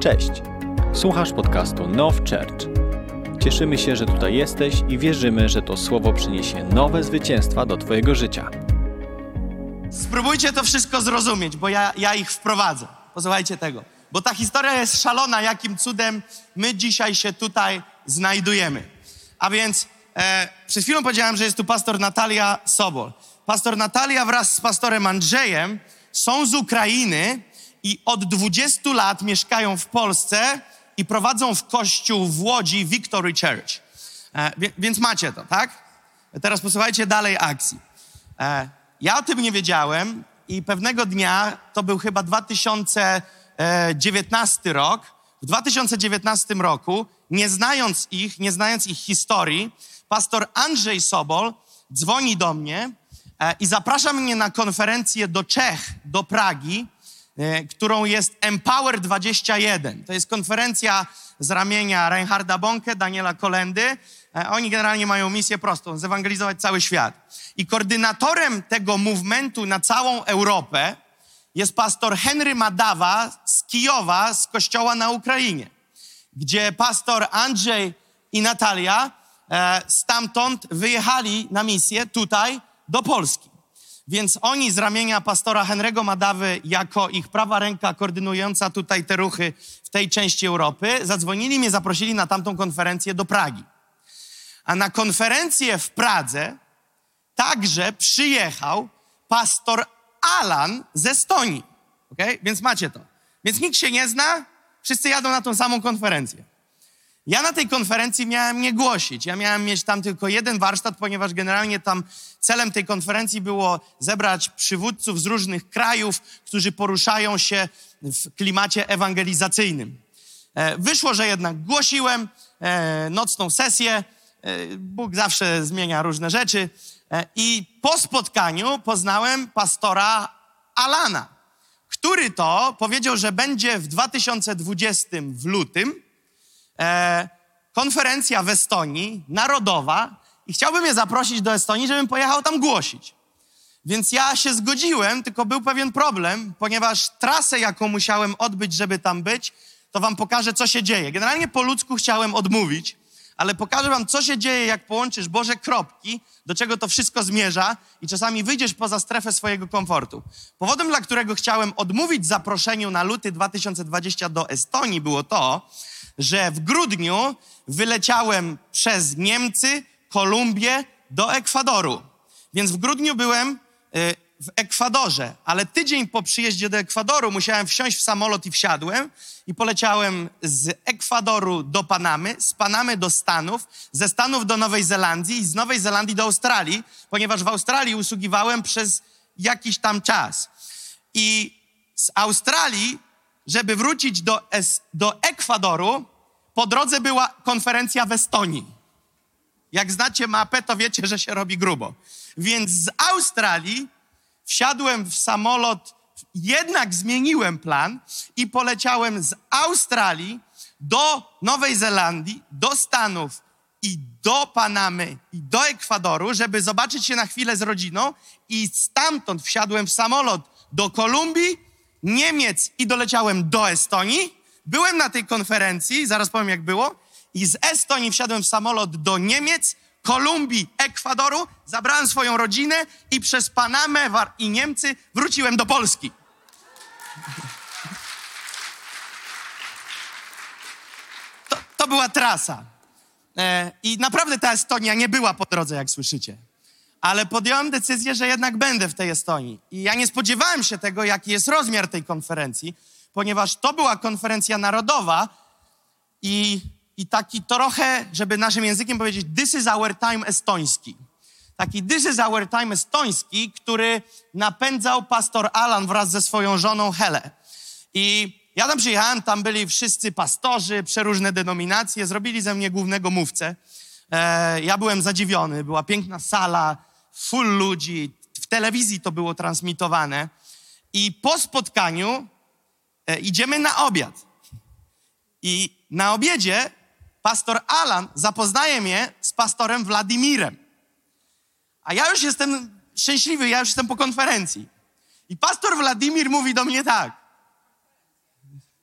Cześć! Słuchasz podcastu Now Church. Cieszymy się, że tutaj jesteś i wierzymy, że to słowo przyniesie nowe zwycięstwa do Twojego życia. Spróbujcie to wszystko zrozumieć, bo ja ich wprowadzę. Posłuchajcie tego. Bo ta historia jest szalona, jakim cudem my dzisiaj się tutaj znajdujemy. A więc przed chwilą powiedziałem, że jest tu pastor Natalia Sobol. Pastor Natalia wraz z pastorem Andrzejem są z Ukrainy i od 20 lat mieszkają w Polsce i prowadzą w kościół w Łodzi Victory Church. Więc macie to, tak? Teraz posłuchajcie dalej akcji. Ja o tym nie wiedziałem i pewnego dnia, to był chyba 2019 rok, w 2019 roku, nie znając ich historii, pastor Andrzej Sobol dzwoni do mnie i zaprasza mnie na konferencję do Czech, do Pragi, którą jest Empower 21. To jest konferencja z ramienia Reinharda Bonke, Daniela Kolendy. Oni generalnie mają misję prostą, zewangelizować cały świat. I koordynatorem tego movementu na całą Europę jest pastor Henry Madawa z Kijowa, z kościoła na Ukrainie, gdzie pastor Andrzej i Natalia stamtąd wyjechali na misję tutaj do Polski. Więc oni z ramienia pastora Henry'ego Madawy, jako ich prawa ręka koordynująca tutaj te ruchy w tej części Europy, zadzwonili mnie, zaprosili na tamtą konferencję do Pragi. A na konferencję w Pradze także przyjechał pastor Alan z Estonii. Okay? Więc macie to. Więc nikt się nie zna, wszyscy jadą na tą samą konferencję. Ja na tej konferencji miałem nie głosić. Ja miałem mieć tam tylko jeden warsztat, ponieważ generalnie tam celem tej konferencji było zebrać przywódców z różnych krajów, którzy poruszają się w klimacie ewangelizacyjnym. Wyszło, że jednak głosiłem nocną sesję. Bóg zawsze zmienia różne rzeczy. I po spotkaniu poznałem pastora Alana, który to powiedział, że będzie w 2020 w lutym konferencja w Estonii, narodowa, i chciałby mnie zaprosić do Estonii, żebym pojechał tam głosić. Więc ja się zgodziłem, tylko był pewien problem, ponieważ trasę, jaką musiałem odbyć, żeby tam być, to wam pokażę, co się dzieje. Generalnie po ludzku chciałem odmówić, ale pokażę wam, co się dzieje, jak połączysz Boże kropki, do czego to wszystko zmierza i czasami wyjdziesz poza strefę swojego komfortu. Powodem, dla którego chciałem odmówić zaproszeniu na luty 2020 do Estonii, było to, że w grudniu wyleciałem przez Niemcy, Kolumbię do Ekwadoru. Więc w grudniu byłem w Ekwadorze, ale tydzień po przyjeździe do Ekwadoru musiałem wsiąść w samolot i wsiadłem i poleciałem z Ekwadoru do Panamy, z Panamy do Stanów, ze Stanów do Nowej Zelandii i z Nowej Zelandii do Australii, ponieważ w Australii usługiwałem przez jakiś tam czas. I z Australii, żeby wrócić do Ekwadoru, po drodze była konferencja w Estonii. Jak znacie mapę, to wiecie, że się robi grubo. Więc z Australii wsiadłem w samolot, jednak zmieniłem plan i poleciałem z Australii do Nowej Zelandii, do Stanów i do Panamy i do Ekwadoru, żeby zobaczyć się na chwilę z rodziną, i stamtąd wsiadłem w samolot do Kolumbii, Niemiec i doleciałem do Estonii. Byłem na tej konferencji, zaraz powiem jak było, i z Estonii wsiadłem w samolot do Niemiec, Kolumbii, Ekwadoru, zabrałem swoją rodzinę i przez Panamę i Niemcy wróciłem do Polski. To była trasa. I naprawdę ta Estonia nie była po drodze, jak słyszycie. Ale podjąłem decyzję, że jednak będę w tej Estonii. I ja nie spodziewałem się tego, jaki jest rozmiar tej konferencji, ponieważ to była konferencja narodowa i taki trochę, żeby naszym językiem powiedzieć, this is our time estoński. Taki this is our time estoński, który napędzał pastor Alan wraz ze swoją żoną Hele. I ja tam przyjechałem, tam byli wszyscy pastorzy, przeróżne denominacje, zrobili ze mnie głównego mówcę. Ja byłem zadziwiony, była piękna sala, full ludzi, w telewizji to było transmitowane. I po spotkaniu idziemy na obiad. I na obiedzie pastor Alan zapoznaje mnie z pastorem Władimirem. A ja już jestem szczęśliwy, ja już jestem po konferencji. I pastor Władimir mówi do mnie tak: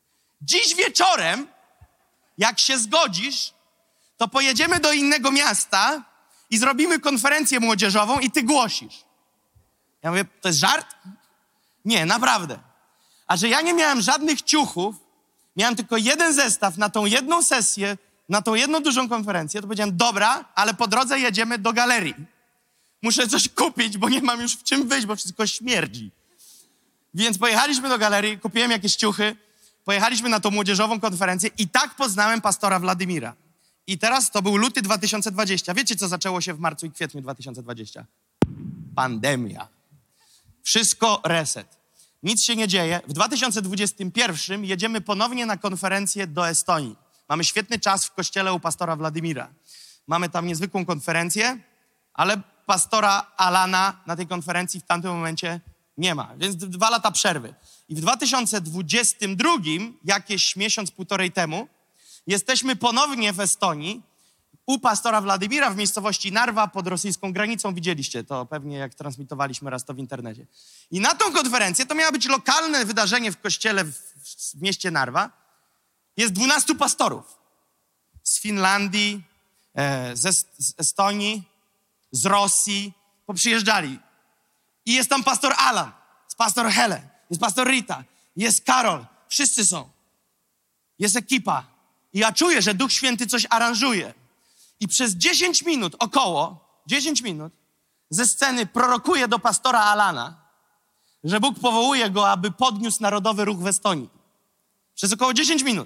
Dziś wieczorem, jak się zgodzisz, to pojedziemy do innego miasta i zrobimy konferencję młodzieżową i ty głosisz. Ja mówię, to jest żart? Nie, naprawdę. A że ja nie miałem żadnych ciuchów, miałem tylko jeden zestaw na tą jedną sesję, na tą jedną dużą konferencję, to powiedziałem, dobra, ale po drodze jedziemy do galerii. Muszę coś kupić, bo nie mam już w czym wyjść, bo wszystko śmierdzi. Więc pojechaliśmy do galerii, kupiłem jakieś ciuchy, pojechaliśmy na tą młodzieżową konferencję i tak poznałem pastora Władimira. I teraz to był luty 2020. Wiecie, co zaczęło się w marcu i kwietniu 2020? Pandemia. Wszystko reset. Nic się nie dzieje. W 2021 jedziemy ponownie na konferencję do Estonii. Mamy świetny czas w kościele u pastora Władimira. Mamy tam niezwykłą konferencję, ale pastora Alana na tej konferencji w tamtym momencie nie ma. Więc 2 lata przerwy. I w 2022, jakieś miesiąc, półtorej temu, jesteśmy ponownie w Estonii u pastora Władimira w miejscowości Narwa pod rosyjską granicą. Widzieliście to pewnie, jak transmitowaliśmy raz to w internecie. I na tą konferencję, to miało być lokalne wydarzenie w kościele w mieście Narwa. Jest 12 pastorów z Finlandii, z Estonii, z Rosji. Poprzyjeżdżali. I jest tam pastor Alan, jest pastor Hele, jest pastor Rita, jest Karol. Wszyscy są. Jest ekipa. I ja czuję, że Duch Święty coś aranżuje. I przez 10 minut, około 10 minut, ze sceny prorokuje do pastora Alana, że Bóg powołuje go, aby podniósł narodowy ruch w Estonii. Przez około 10 minut.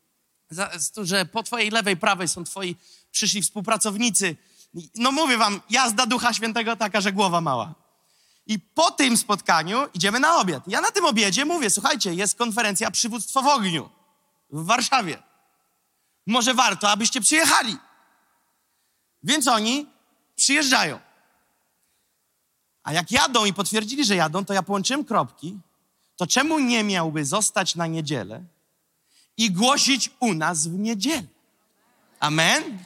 Że po twojej lewej, prawej są twoi przyszli współpracownicy. No mówię wam, jazda Ducha Świętego taka, że głowa mała. I po tym spotkaniu idziemy na obiad. Ja na tym obiedzie mówię, słuchajcie, jest konferencja Przywództwo w ogniu w Warszawie. Może warto, abyście przyjechali. Więc oni przyjeżdżają. A jak jadą i potwierdzili, że jadą, to ja połączyłem kropki, to czemu nie miałby zostać na niedzielę i głosić u nas w niedzielę? Amen?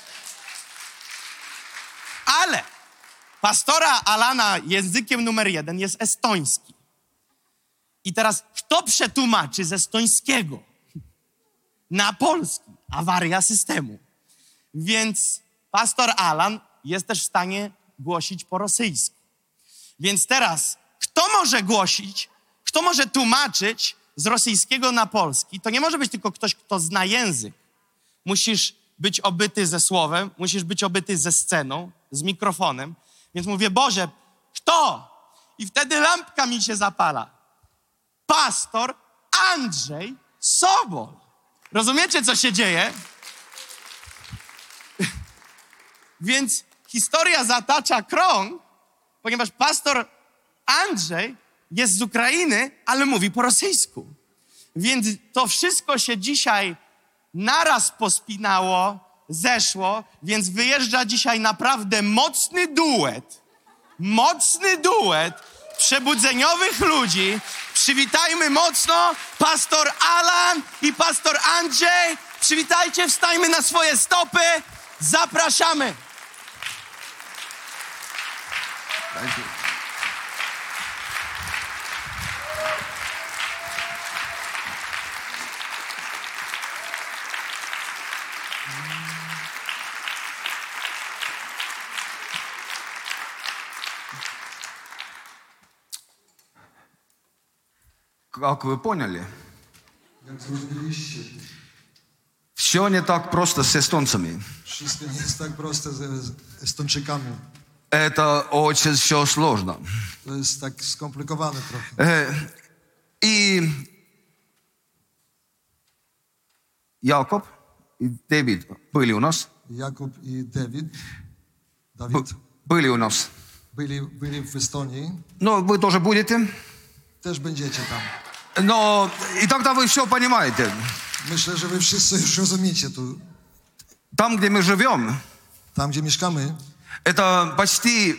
Ale pastora Alana językiem numer 1 jest estoński. I teraz kto przetłumaczy z estońskiego na polski? Awaria systemu. Więc pastor Alan jest też w stanie głosić po rosyjsku. Więc teraz kto może głosić, kto może tłumaczyć z rosyjskiego na polski? To nie może być tylko ktoś, kto zna język. Musisz być obyty ze słowem, musisz być obyty ze sceną, z mikrofonem. Więc mówię, Boże, kto? I wtedy lampka mi się zapala. Pastor Andrzej Sobol. Rozumiecie, co się dzieje? Więc historia zatacza krąg, ponieważ pastor Andrzej jest z Ukrainy, ale mówi po rosyjsku. Więc to wszystko się dzisiaj naraz pospinało, zeszło, więc wyjeżdża dzisiaj naprawdę mocny duet przebudzeniowych ludzi. Przywitajmy mocno pastor Alan i pastor Andrzej. Przywitajcie, wstańmy na swoje stopy. Zapraszamy. Thank you. Как вы поняли, все не так просто с эстонцами. Wszystko nie jest tak proste z Estończykami. Это очень все сложно. To jest tak skomplikowane trochę. И Jakub и David были у нас. Jakub i Dawid Были у нас. byli w Estonii. Ну, вы тоже будете. Też będziecie tam. Но и тогда вы все понимаете. Myślę, że wy wszyscy już rozumiecie tu. Там, где мы живем, Tam, gdzie mieszkamy, это почти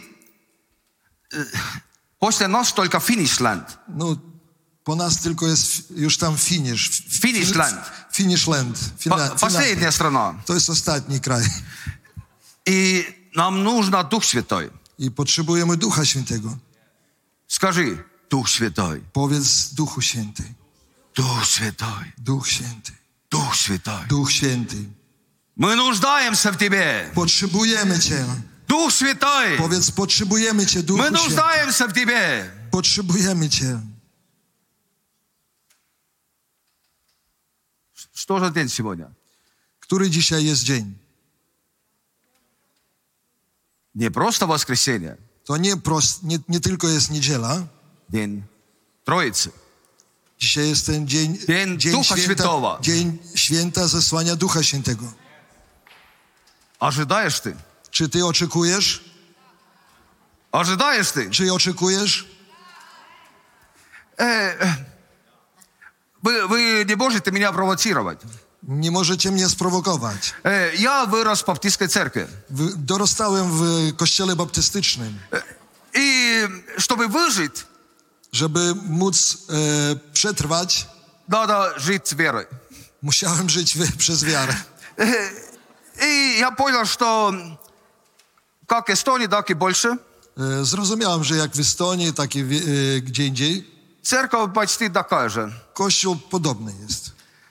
после нас только Финишленд. no po nas tylko jest już tam finish. Finishland. Finishland. Последняя страна. To jest ostatni kraj. И нам нужно Дух Святой. I potrzebujemy Ducha Świętego. Скажи, Дух Святой. Powiedz Duchu Święty. Дух Святой. Duch Święty. Дух Святой. Duch Święty. Мы нуждаемся в Тебе. Potrzebujemy Cię. Дух Святой. Powiedz, potrzebujemy Cię, Duchu Мы Święty. нуждаемся в Тебе. Potrzebujemy Cię. Что за день сегодня? Który dzisiaj jest dzień? Не просто воскресенье. To nie tylko jest niedziela. День Троицы. Dzisiaj jest ten dzień Ducha Świętego. dzień święta zesłania Ducha Świętego. Ожидаешь ты? Czy ty oczekujesz? Ожидаешь ты? Czy oczekujesz? Вы не можете меня провоцировать. Nie możecie mnie sprowokować. Я вырос в баптистской церкви. Dorastałem w kościele baptystycznym. И чтобы выжить, Żeby móc przetrwać, надо жить с верой. musiałem żyć przez wiarę. И я понял, что как Эстонии, так и больше, Zrozumiałem, że jak w Estonii, tak i gdzie indziej, церковь почти такая же. kościół podobny jest.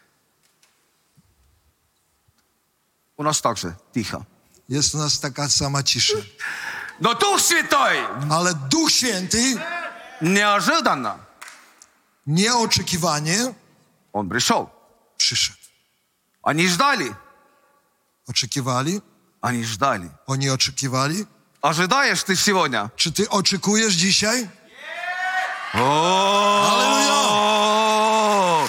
У нас также тихо. Jest u nas taka sama cisza. Но Дух Святой Ale Duch Święty неожиданно, nieoczekiwanie Он пришел. przyszedł. Они ждали. Oczekiwali, Они ждали. oni oczekiwali. Ожидаешь ты сегодня? Czy ty oczekujesz dzisiaj? О!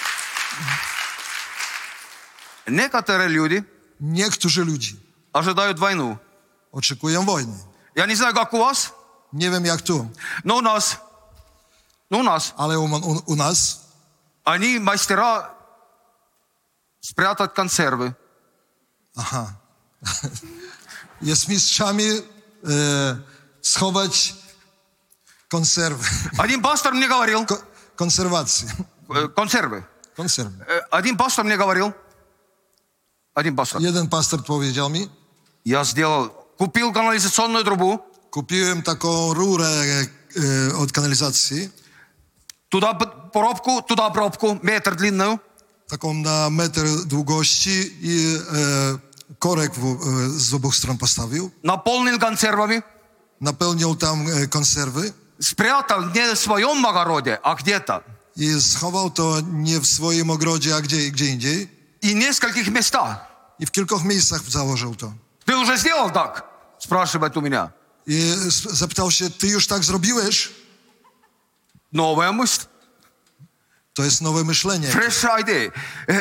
Некоторые люди Niektórzy ludzie ожидают войну. oczekują wojny. Я не знаю, как у вас, Nie wiem jak tu, но у нас ale u nas они мастера спрятать консервы. aha, jest mistrzami schować konserwy. Один пастор мне говорил, Konserwacji. консервы. Konserwy. Один пастор мне говорил, один пастор, Jeden pastor powiedział mi, я купил канализационную трубу, kupiłem taką rurę od kanalizacji, туда пробку, метр длинную, taką na metr długości i korek z obu stron postawił. наполнил консервами, Napełniał tam konserwy спрятал не в своем огороде, а где-то. i schował to nie w swoim ogrodzie, a gdzie indziej. И в нескольких местах. I w kilku miejscach założył to. Ты уже сделал так? Спрашивает у меня. I zapytał się, ty już tak zrobiłeś? Новая мысль. To jest nowe myślenie. Fresh idea.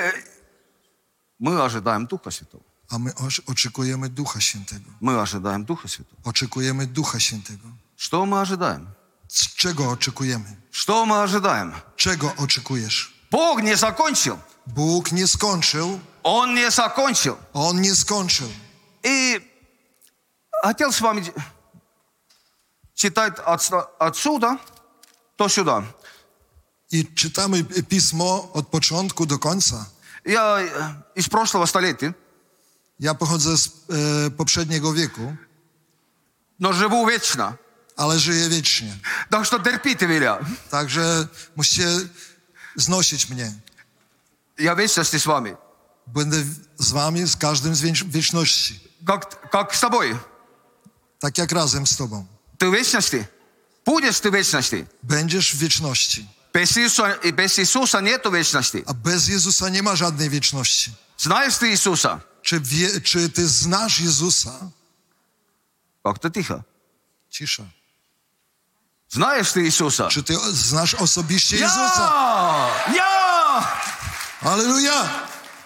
Мы ожидаем Духа Святого. A my oczekujemy Ducha Świętego. Мы ожидаем Духа Святого. Oczekujemy Ducha Świętego. Что мы ожидаем? Z czego oczekujemy? Что мы ожидаем? Czego oczekujesz? Бог не закончил. Bóg nie skończył. Он не закончил. On nie skończył. И хотел с вами читать отсюда, то сюда. I czytamy Pismo od początku do końca. Я из прошлого столетия, Ja pochodzę z poprzedniego wieku, но живу вечно. ale żyję wiecznie. Так что терпите меня. Także musicie znosić mnie. Я в вечности с вами. Będę z wami, z każdym z wieczności. Как с тобой. Tak jak razem z tobą. Ты в вечности. Будешь ты в вечности. Będziesz w wieczności. Без Иисуса нету вечности. A bez Jezusa nie ma żadnej wieczności. Знаешь ты Иисуса? Czy ty znasz Jezusa? Как-то тихо. Cisza. Знаешь ты Иисуса? Czy ty znasz osobiście Jezusa? Я! Halleluja!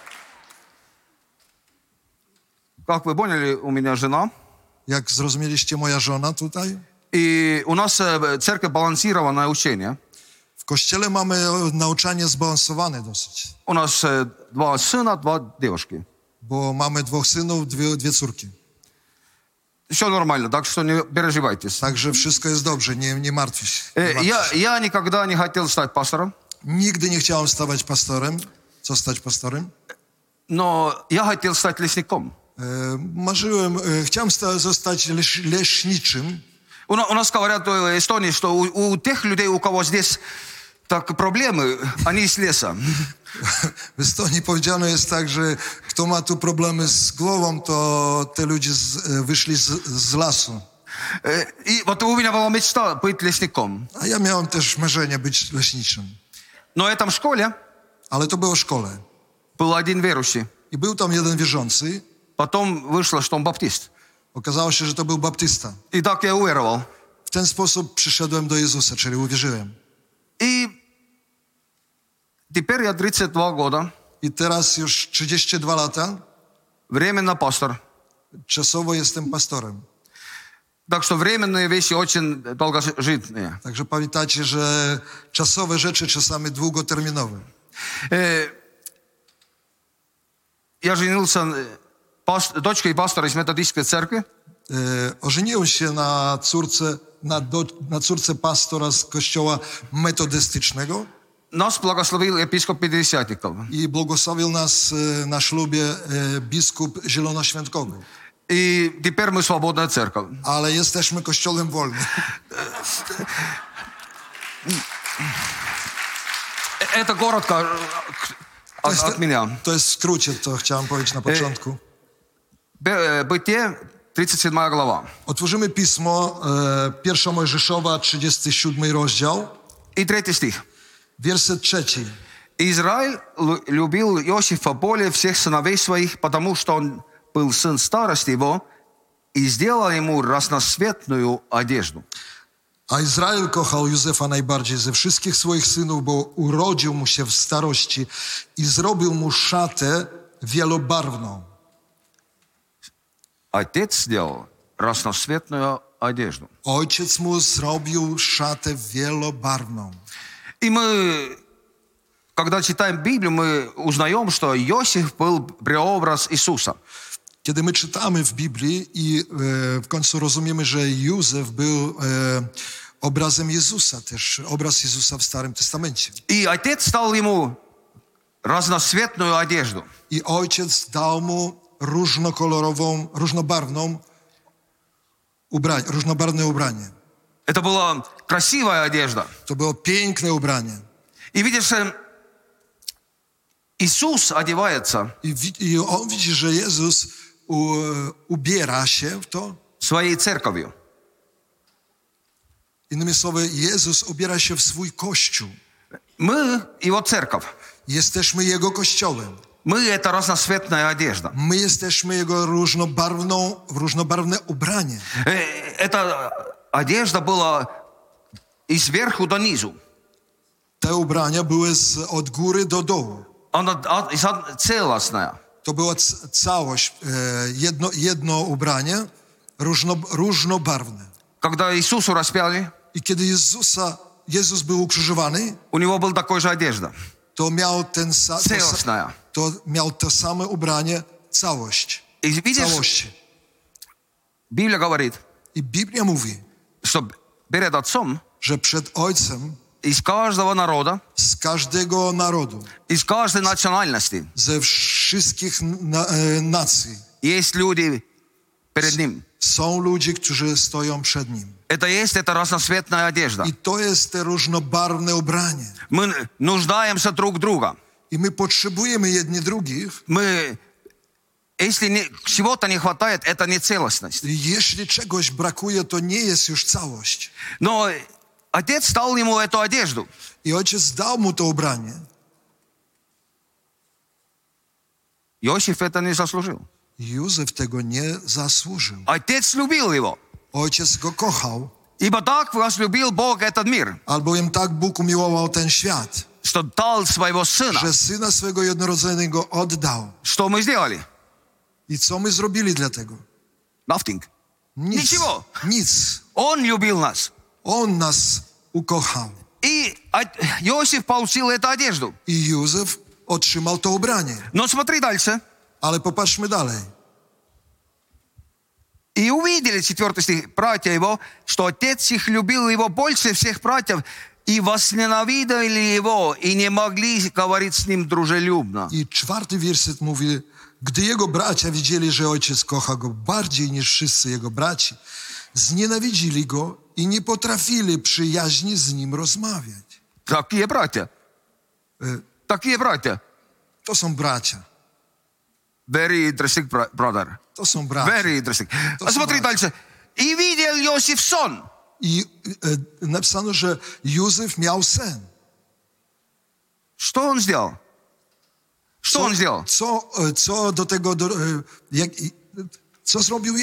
Как вы поняли, у меня жена. Jak zrozumieliście, moja żona tutaj? И у нас церковь балансированное учение. W kościele mamy nauczanie zbalansowane dosyć. У нас 2 сына, 2 девушки. Bo mamy 2 synów, dwie córki. Все нормально, так что не переживайтесь. Także wszystko jest dobrze, nie martw się. Nie martw się. Я никогда не хотел стать пастором, Nigdy nie chciałem zostać pastorem. но я хотел стать лесником. Marzyłem, chciałem zostać leśniczym. У нас говорят в Эстонии, что у тех людей, у кого здесь Так проблемы, они с леса. W Estonii powiedziano jest tak, że kto ma tu problemy z głową, to te ludzie wyszli z lasu. И вот у меня была мечта быть лесником. A ja miałem też marzenie być leśniczym. Но в этом школе Ale to było w szkole. был один верующий. I był tam jeden wierzący. Потом вышло, что он баптист. Okazało się, że to był baptysta. И так я уверовал. W ten sposób przyszedłem do Jezusa, czyli uwierzyłem. И теперь я 32 года, I teraz już 32 lata, временно пастор. czasowo jestem pastorem. Так что временные вещи очень долгожитные. Także pamiętajcie, że czasowe rzeczy czasami długoterminowe. Я женился дочкой пастора из методистской церкви. Ożeniłem się na córce pastora z kościoła metodystycznego Нас благословил епископ Пятидесятников. i błogosławił nas na ślubie biskup zielonoświątkowy. И теперь мы свободная церковь. Ale jesteśmy kościołem wolnym. Это коротко от меня. To jest w skrócie, to chciałem powiedzieć na początku. Бытие, 37 глава. Otworzymy pismo, 1 Mojżeszowa, 37 rozdział, И 3 стих. werset 3. Израиль любил Иосифа более всех сыновей своих, потому что он был сын старости его, и сделал ему разноцветную одежду. A Izrael kochał Józefa najbardziej ze wszystkich swoich synów, bo urodził mu się w starości i zrobił mu szatę wielobarwną. Отец сделал разноцветную одежду. Ojciec mu zrobił szatę wielobarwną. И мы, когда читаем Библию, мы узнаем, что Иосиф был преобраз Иисуса. Kiedy my czytamy w Biblii i w końcu rozumiemy, że Józef był obrazem Jezusa też, obraz Jezusa w Starym Testamencie. И отец дал ему разноцветную одежду. I ojciec dał mu różnobarwne ubranie. Это была красивая одежда. To było piękne ubranie. И видишь, Иисус одевается I on widzi, że Jezus ubiera się w to. своей церковью. Innymi słowy, Jezus ubiera się w swój Kościół. Мы его церковь. Jesteśmy Jego Kościołem. Мы это разноцветная одежда. My jesteśmy Jego różnobarwne ubranie. Эта одежда была и сверху до низу. Te ubrania były od góry do dołu. Она целостная. To była całość, jedno ubranie, różnobarwne. Когда Иисусу распяли, I kiedy Jezus był ukrzyżowany, у него была такой же одежда. to miał Целостная. to same ubranie, całość. И видишь, Całości. Библия говорит, I Biblia mówi, что перед Отцом że przed Ojcem из каждого народа, z każdego narodu, из каждой национальности ze wszystkich nacji есть люди перед Ним. są ludzie, którzy stoją przed Nim. Это есть эта разноцветная одежда. I to jest te różnobarwne ubranie. Мы нуждаемся друг в друга. I my potrzebujemy jedni drugich. Если чего-то не хватает, это не целостность. Jeśli czegoś brakuje, to nie jest już całość. Но Отец дал ему эту одежду. I ojciec dał mu to ubranie. Иосиф это не заслужил. Józef tego nie zasłużył. Отец любил его. Ojciec go kochał, Ибо так возлюбил Бог этот мир, albowiem tak Bóg umiłował ten świat, что дал своего Сына. że Syna swego jednorodzonego oddał. Что мы сделали? I co my zrobili dla tego? Nothing. Nic. Ничего. Nic. Он любил нас. On nas ukochał. И Иосиф получил эту одежду. I Józef otrzymał to ubranie. Но смотри дальше. Ale popatrzmy dalej. И увидели, 4 стих, братья его, что отец их любил его больше всех братьев, и возненавидели его, и не могли говорить с ним дружелюбно. I 4 werset mówi, gdy jego bracia widzieli, że ojciec kocha go bardziej niż wszyscy jego braci, znienawidzili go i nie potrafili przyjaźnie z nim rozmawiać. Такие братья. Такие братья. To są bracia. Very interesting, brother. To są bracia. Very interesting. To А są смотри bracia. дальше. И видел Иосиф сон. I napisano, że Józef miał sen. Что он сделал? Что он сделал? Co do tego, co zrobił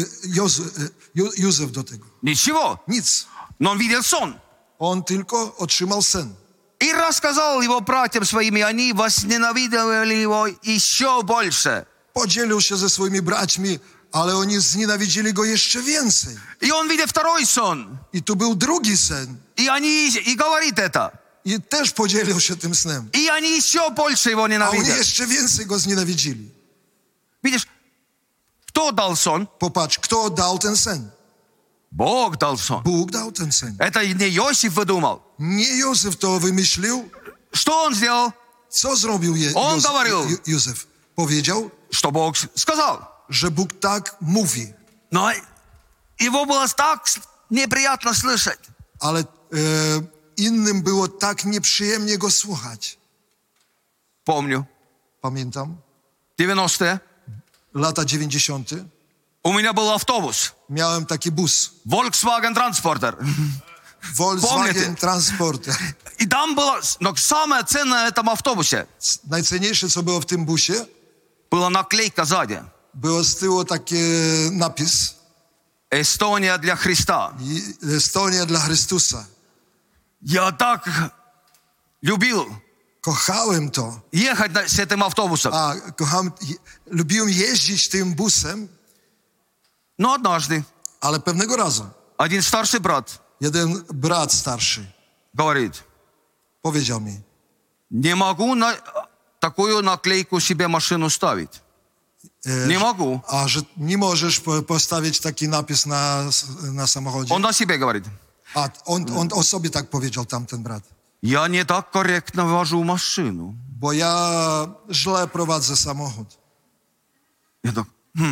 Józef do tego? Ничего. Nic. Но он видел сон. On tylko otrzymał sen. И рассказал его братьям своим, и они возненавидели его еще больше. Podzielił się ze swoimi braćmi, ale oni znienawidzili go jeszcze więcej. И он видит второй сон. I tu był drugi sen. И говорит это. I też podzielił się tym snem. И они еще больше его A oni ненавидят. jeszcze więcej go znienawidzili. Видишь, кто дал сон? Popatrz, kto dał ten sen? Бог дал сон. Bóg dał ten sen. Это не Иосиф выдумал. Nie Józef to wymyślił. Что он сделал? Co zrobił On говорил. Józef? Powiedział, Что Бог сказал. że Bóg tak mówi. Но его было так неприятно слышать. Ale innym było tak nieprzyjemnie go słuchać. Помню, Pamiętam, 90-е, lata 90. у меня был автобус. Miałem taki bus. Volkswagen Transporter. Volkswagen Помните? Transporter. И там было, но самое ценное в этом автобусе, Najcenniejsze, co było w tym busie, была наклейка сзади. było z tyłu taki napis Эстония для Христа. Estonia dla Chrystusa. Я так любил Kochałem to. ехать с этим автобусом. Lubiłem jeździć tym busem, Но однажды ale pewnego razu один старший брат jeden brat starszy говорит, powiedział mi, не могу такую наклейку себе машину ставить. Не могу. a że nie możesz postawić taki napis na samochodzie. Он о себе говорит. A on o sobie tak powiedział, tamten brat. Я не так корректно вожу машину. Bo ja źle prowadzę samochód. Я так,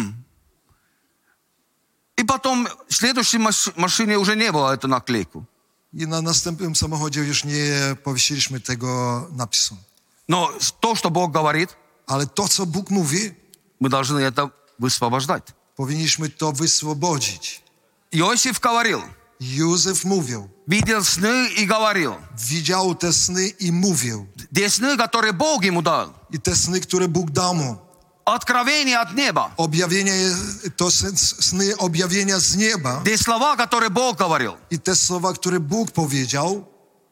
И потом в следующей машине уже не было эту наклейку. I na następnym samochodzie już nie powiesiliśmy tego napisu. Но то, что Бог говорит, Ale to, co Bóg mówi, мы должны это высвобождать. powinniśmy to wyswobodzić. Иосиф говорил, Józef mówił, видел сны и говорил. widział te sny i mówił. Те сны, которые Бог ему дал. I te sny, które Bóg dał mu. Откровение от неба. Objawienie, to sny objawienia z nieba. Те слова, которые Бог говорил. I te słowa, które Bóg powiedział,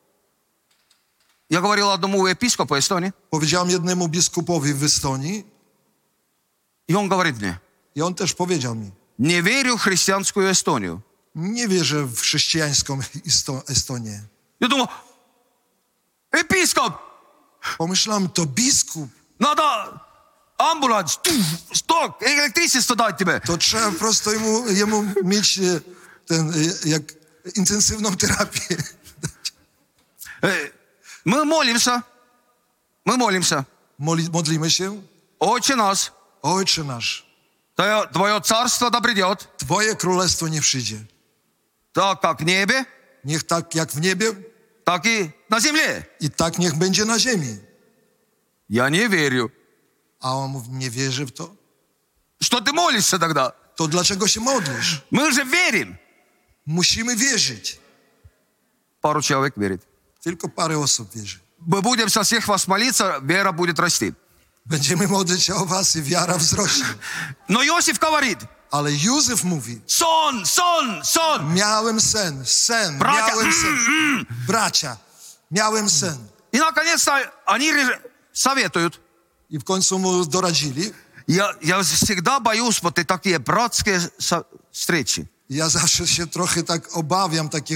Я говорил одному епископу Эстонии, powiedziałem jednemu biskupowi w Estonii и он говорит мне, i on też powiedział mi, не верю в христианскую Эстонию. nie wierzę w chrześcijańską Estonię. Я думал, епископ, Pomyślałem, to biskup, надо амбуланс, сток, электричество дать тебе. to trzeba po prostu jemu mieć jak intensywną terapię. Мы молимся, Modlimy się, Отче наш, Ojcze nasz, Твое царство да придет, Twoje królestwo nie przyjdzie. так как в небе, Niech tak jak w niebie так и на земле. i tak niech będzie na ziemi. Я не верю. A on mówi, nie wierzy w to. Что ты молишься тогда? To dlaczego się modlisz? Мы же верим. Musimy wierzyć. Пару человек верит. Tylko parę osób wierzy. Мы будем со всех вас молиться, вера будет расти. Będziemy modlić się o was i wiara wzrośnie. Но Иосиф говорит, Ale Józef mówi, сон, сон, сон. miałem sen, Bracia, miałem sen. Bracia, miałem sen. И наконец-то они советуют. I w końcu mu doradzili. Я всегда боюсь вот и такие братские встречи. Ja zawsze się trochę tak obawiam takich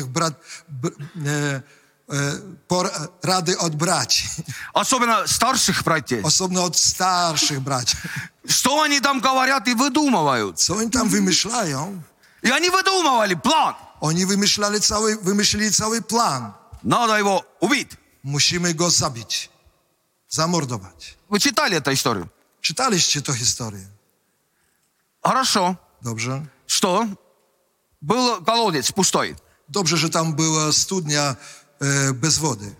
rady od braci. Особенно старших братьев. Osobno od starszych braci. Что они там говорят и выдумывают. Co oni tam wymyślają? И они выдумывали план. Oni wymyślili cały plan. Надо его убить. Musimy go zabić. Zamordować. Вы читали эту историю? Czytaliście tę historię. Хорошо. Dobrze? Что? Был колодец пустой. Dobrze, że tam była studnia bez wody.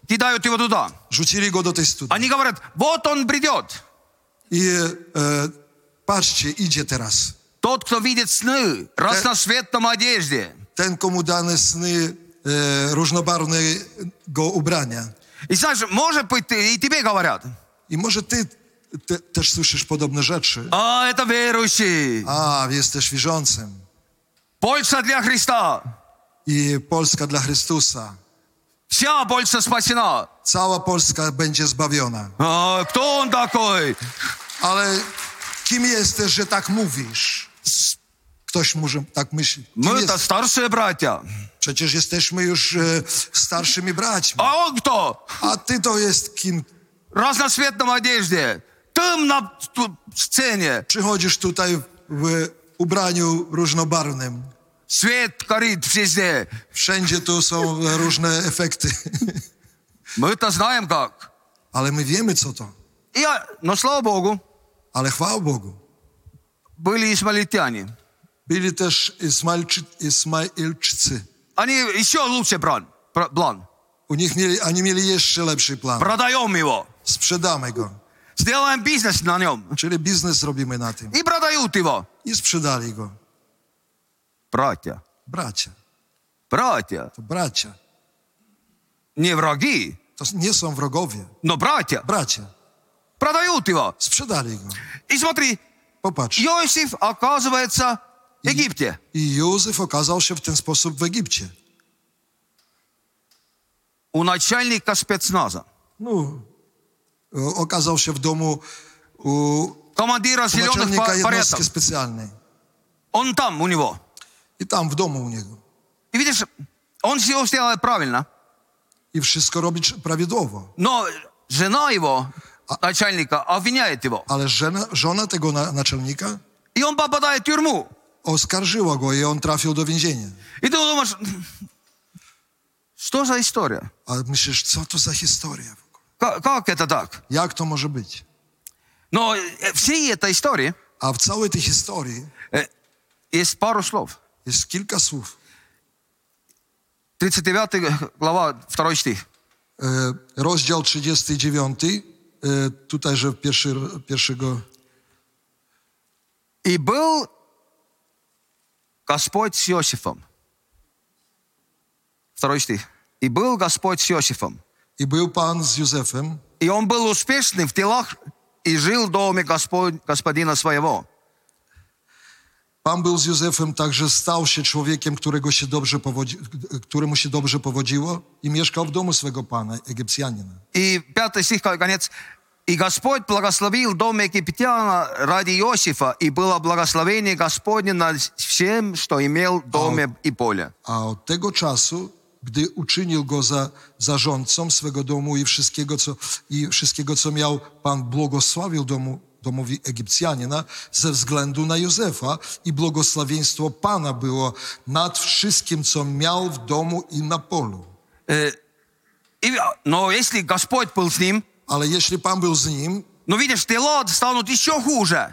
кидают его туда. Rzucili go do tej studni. Они говорят, вот он придет. I patrzcie, idzie teraz. Tот, кто видит сны, разноцветном одежде. Ten, komu dane sny różnobarwnego ubrania. И знаешь, может быть, и тебе говорят. I może ty też słyszysz podobne rzeczy. А, это верующий. A, jesteś wierzącym. Польша для Христа. I Polska dla Chrystusa. Вся Польша спасена. Cała Polska będzie zbawiona. А, кто он такой? Ale kim jesteś, że tak mówisz? Ktoś może tak myśli. Kim Мы-то старшие братья. Przecież jesteśmy już starszymi braćmi. А он кто? A ty to jest kim? В разноцветном одежде. Ты на сцене. Przychodzisz tutaj w ubraniu różnobarwnym. Свет горит везде. Wszędzie tu są różne efekty. Мы-то знаем как. Ale my wiemy, co to. Но слава Богу, Ale chwała Bogu. были исмаильтяне. Byli też Ismailczycy. Они еще лучше план. Oni mieli jeszcze lepszy plan. Продаем его. Sprzedamy go. Сделаем бизнес на нем. Czyli biznes robimy na tym. И продают его. I sprzedali go. Братья. Bracia. Братья. To bracia. Не враги, To nie są wrogowie. но братья. Bracia. Продают его. Sprzedali go. И смотри, Popatrz. Иосиф оказывается в Египте. I Józef okazał się w ten sposób w Egipcie. У начальника спецназа. No, okazał się w domu u Командира зеленых naczelnika jednostki порядков. specjalnej. Он там у него. I tam w domu u niego. И видишь, он все сделал правильно. I wszystko robi prawidłowo. Но жена его, начальника, обвиняет его. Ale żona tego naczelnika И он попадает в тюрьму. oskarżyła go i on trafił do więzienia. И ты думаешь, что за история? A myślisz, co to za historia? Как это так? Jak to może być? Но всей этой истории A w całej tej historii есть пару слов. jest kilka słów. 39 глава, 2 стих. Rozdział 39, tutaj, że pierwszego... И был Господь с Иосифом. 2 стих. И был Господь с Иосифом. I był Pan z Józefem И он был успешный в делах и жил в доме господина своего. Pan był z Józefem, także stał się człowiekiem, któremu się dobrze powodziło i mieszkał w domu swego pana, Egipcjanina. И 5 стих, конец. И Господь благословил дом египтяна ради Иосифа, и было благословение Господне над всем, что имел в доме и поле. A od tego czasu, gdy uczynił go za zarządcą swego domu i wszystkiego, co miał, Pan błogosławił domowi Egipcjanina ze względu na Józefa i błogosławieństwo Pana było nad wszystkim, co miał w domu i na polu. Но если Господь был с ним, Ale jeśli Pan był z nim, ну видишь, дела станут еще хуже.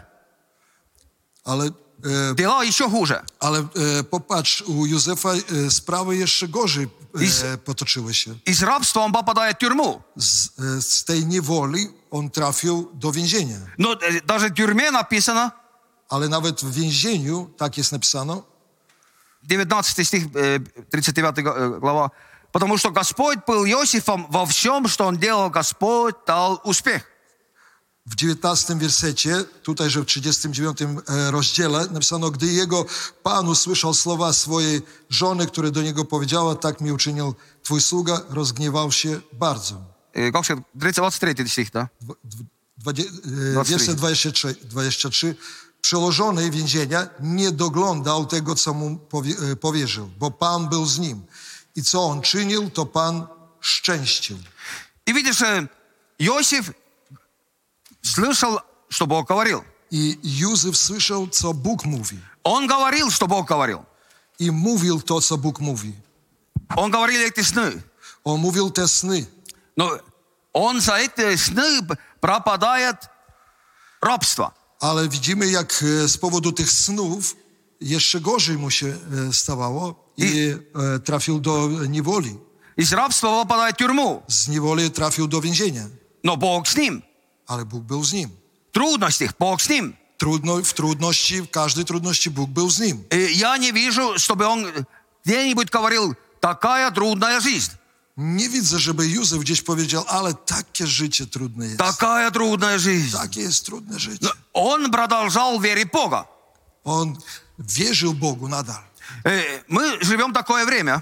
Дела еще хуже. Ale popatrz, u Józefa sprawy jeszcze gorzej potoczyły się. И с рабства он попадает в тюрьму. Z tej niewoli on trafił do więzienia. Но даже в тюрьме написано, Ale nawet w więzieniu, tak jest napisano, 19 стих, 39 глава, потому что Господь был Иосифом во всем, что он делал, Господь дал успех. w 19 wersecie, tutaj, że w 39 rozdziale napisano, gdy jego Pan usłyszał słowa swojej żony, które do niego powiedziała, tak mi uczynił twój sługa, rozgniewał się bardzo. 23 стих, да? Wiersze 23. Przełożony więzienia nie doglądał tego, co mu powierzył, bo Pan był z nim. I co on czynił, to Pan szczęścił. И видишь, Иосиф слышал, что Бог говорил. I Józef słyszał, co Bóg mówi. Он говорил, что Бог говорил. I mówił to, co Bóg mówi. Он говорил эти сны. On mówił te sny. Но он за эти сны пропадает рабство. Ale widzimy, jak z powodu tych snów jeszcze gorzej mu się stawało i trafił do niewoli. Из рабства попадает в тюрьму. Z niewoli trafił do więzienia, Но Бог с ним. ale Bóg był z nim. В трудностях Бог с ним. W trudności, w każdej trudności Bóg był z nim. И я не вижу, чтобы он где-нибудь говорил, такая трудная жизнь. Nie widzę, żeby Józef gdzieś powiedział, ale takie życie trudne jest. Такая трудная жизнь. Takie jest trudne życie. Но он продолжал верить в Бога. On wierzył Bogu nadal. Мы живем такое время.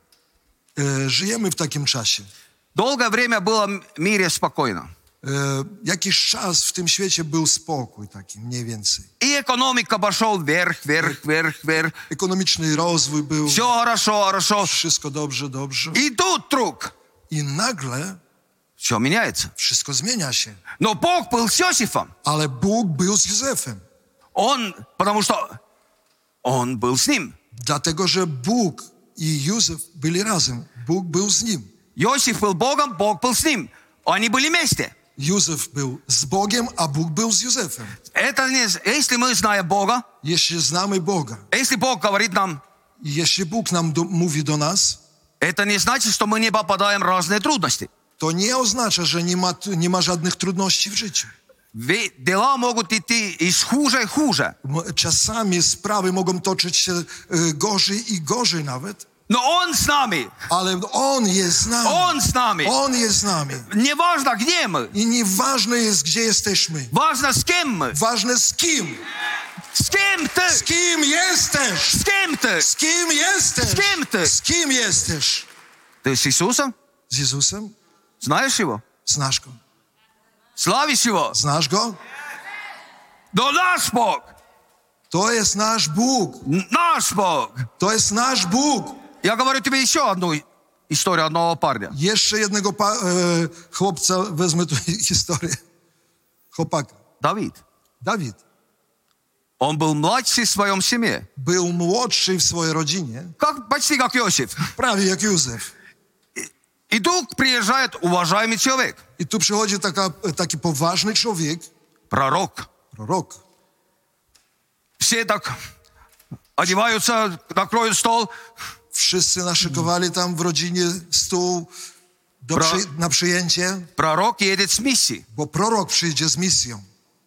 Żyjemy w takim czasie. Долгое время было в мире спокойно. Jakiś czas w tym świecie był spokój taki, mniej więcej. И экономика пошел вверх, вверх, вверх, вверх. Ekonomiczny rozwój był. Все хорошо, хорошо. Wszystko dobrze, dobrze. И тут вдруг I nagle все меняется. wszystko zmienia się. Но Бог был с Иосифом. Ale Bóg był z Józefem. Потому что он был с ним. Dlatego, że Bóg i Józef byli razem. Bóg był z nim. Иосиф был Богом, Бог был с ним. Они были вместе. Józef był z Bogiem, a Bóg był z Józefem. Это не, если мы знаем Бога, Jeśli znamy Boga, если Бог говорит нам, i jeśli Bóg nam mówi do nas, это не значит, что мы не попадаем в разные трудности. to nie oznacza, że nie ma żadnych trudności w życiu. Дела могут идти из хуже и хуже. Czasami sprawy mogą toczyć się gorzej i gorzej nawet, Но Он с нами. ale On jest z nami. Он с нами. On jest z nami. Неважно, где мы. I nieważne jest, gdzie jesteśmy. Важно, с кем мы. Ważne z kim. С кем ты? Z kim jesteś? С кем ты? Z kim jesteś? Z kim ty? Z kim jesteś? Ты с Иисусом? Z Jezusem? Знаешь Его? Znasz Go. Славишь Его? Znasz Go? Но наш Бог. To jest nasz Bóg. Наш Бог. To jest nasz Bóg. Я говорю тебе еще одну историю одного парня. Jeszcze jednego chłopca, wezmę tu historię. Chłopaka. Давид. Dawid. Он был младший в своем семье. Był młodszy w swojej rodzinie, Почти как Иосиф. prawie jak Józef. И тут приезжает уважаемый человек. I tu przychodzi taki poważny człowiek, Пророк. prorok. Все так одеваются, накроют стол. Wszyscy naszykowali tam w rodzinie stół na przyjęcie, Пророк едет с миссией. bo prorok przyjdzie z misją.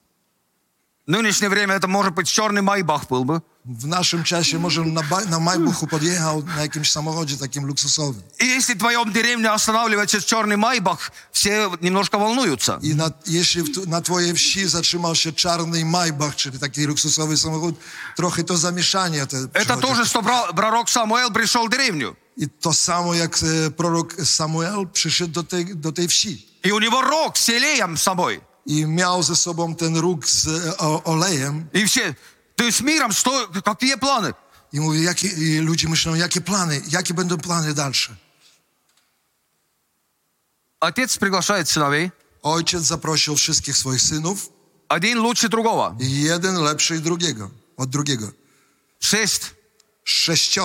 В нынешнее время это может быть черный майбах был бы. W naszym czasie może na Majbuchu podjechał na jakimś samochodzie takim luksusowym. И если в твоем деревне останавливается черный майбах, все немножко волнуются. I jeśli na twojej wsi zatrzymał się czarny Maybach, czyli taki luksusowy samochód, trochę to zamieszanie. Это тоже, что пророк Самуил пришел в деревню. I to samo jak prorok Samuel przyszedł do tej wsi. И у него рог с елеем с собой. I miał ze sobą ten róg z olejem. И все, ты с миром, что, какие планы? I mówi, i ludzie myślą, jakie będą plany dalsze. Отец приглашает сыновей. Ojciec zaprosił wszystkich swoich synów. Один лучше другого. I jeden lepszy od drugiego. 6. 6.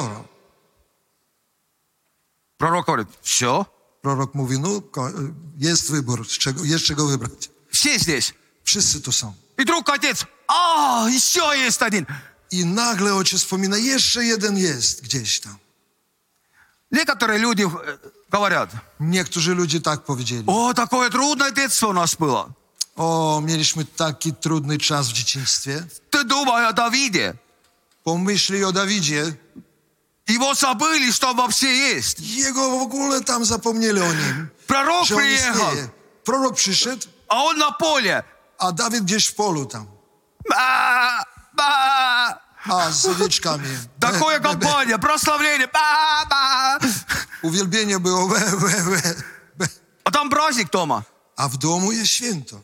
Пророк говорит, все. Prorok mówi, jest wybór, jest czego wybrać. Все здесь. Wszyscy tu są. И вдруг отец, еще есть один. I nagle ojciec wspomina, jeszcze jeden jest gdzieś tam. Некоторые люди говорят, Niektórzy ludzie tak powiedzieli. такое трудное детство у нас было. Mieliśmy taki trudny czas w dzieciństwie. Ты думай о Давиде. Pomyśli o Dawidzie. Его забыли, что он вообще есть. Jego w ogóle tam zapomnieli o nim. Пророк Że on приехал, istnieje. Prorok przyszedł, а он на поле. a Dawid gdzieś w polu tam. Ба, ба. A z owieczkami. Такое компания, прославление. Ба, ба. Uwielbienie było А там праздник дома. A w domu jest święto.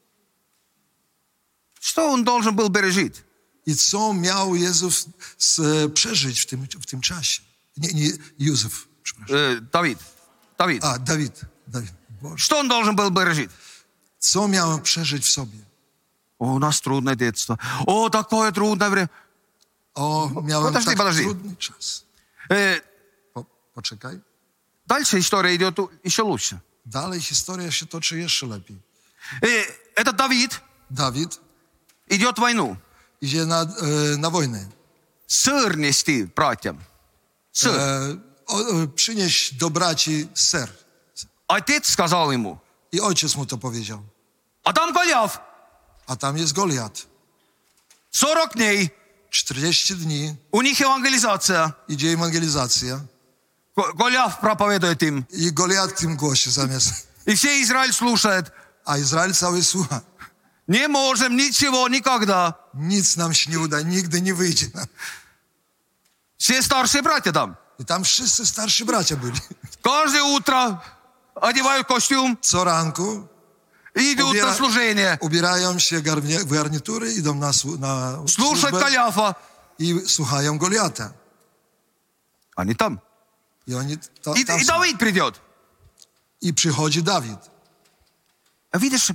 Что он должен был пережить? I co miał Jezus przeżyć w tym czasie? Nie Józef, przepraszam. Давид. A, Dawid. Boże. Что он должен был пережить? Co miał przeżyć w sobie? У нас трудное детство. Такое трудное время. Miałem Подожди, подожди. trudny czas. Poczekaj. Дальше история идет еще лучше. Dalej historia się toczy jeszcze lepiej. Этот Давид Dawid идет в войну. idzie na wojnę. Сыр нести братьям. Сыр. przynieś do braci ser. Отец сказал ему. I ojciec mu to powiedział. А там Голиаф. A tam jest Goliat. 40 дней. 40 dni У них евангелизация. idzie ewangelizacja. Голиаф проповедует им. I Goliat tym głosi zamiast. И все Израиль слушает. A Izrael cały słucha. Не можем ничего, никогда. Nic nam się nie uda, nigdy nie wyjdzie. Все старшие братья там. I tam wszyscy starsi bracia byli. Каждое утро одевают костюм Co ranku и идут на служение. ubierają się w garnitury, idą na Слушать służbę Голиафа. i słuchają Goliata. Они там. I oni tam И są. Давид придет. I przychodzi Dawid. А видишь,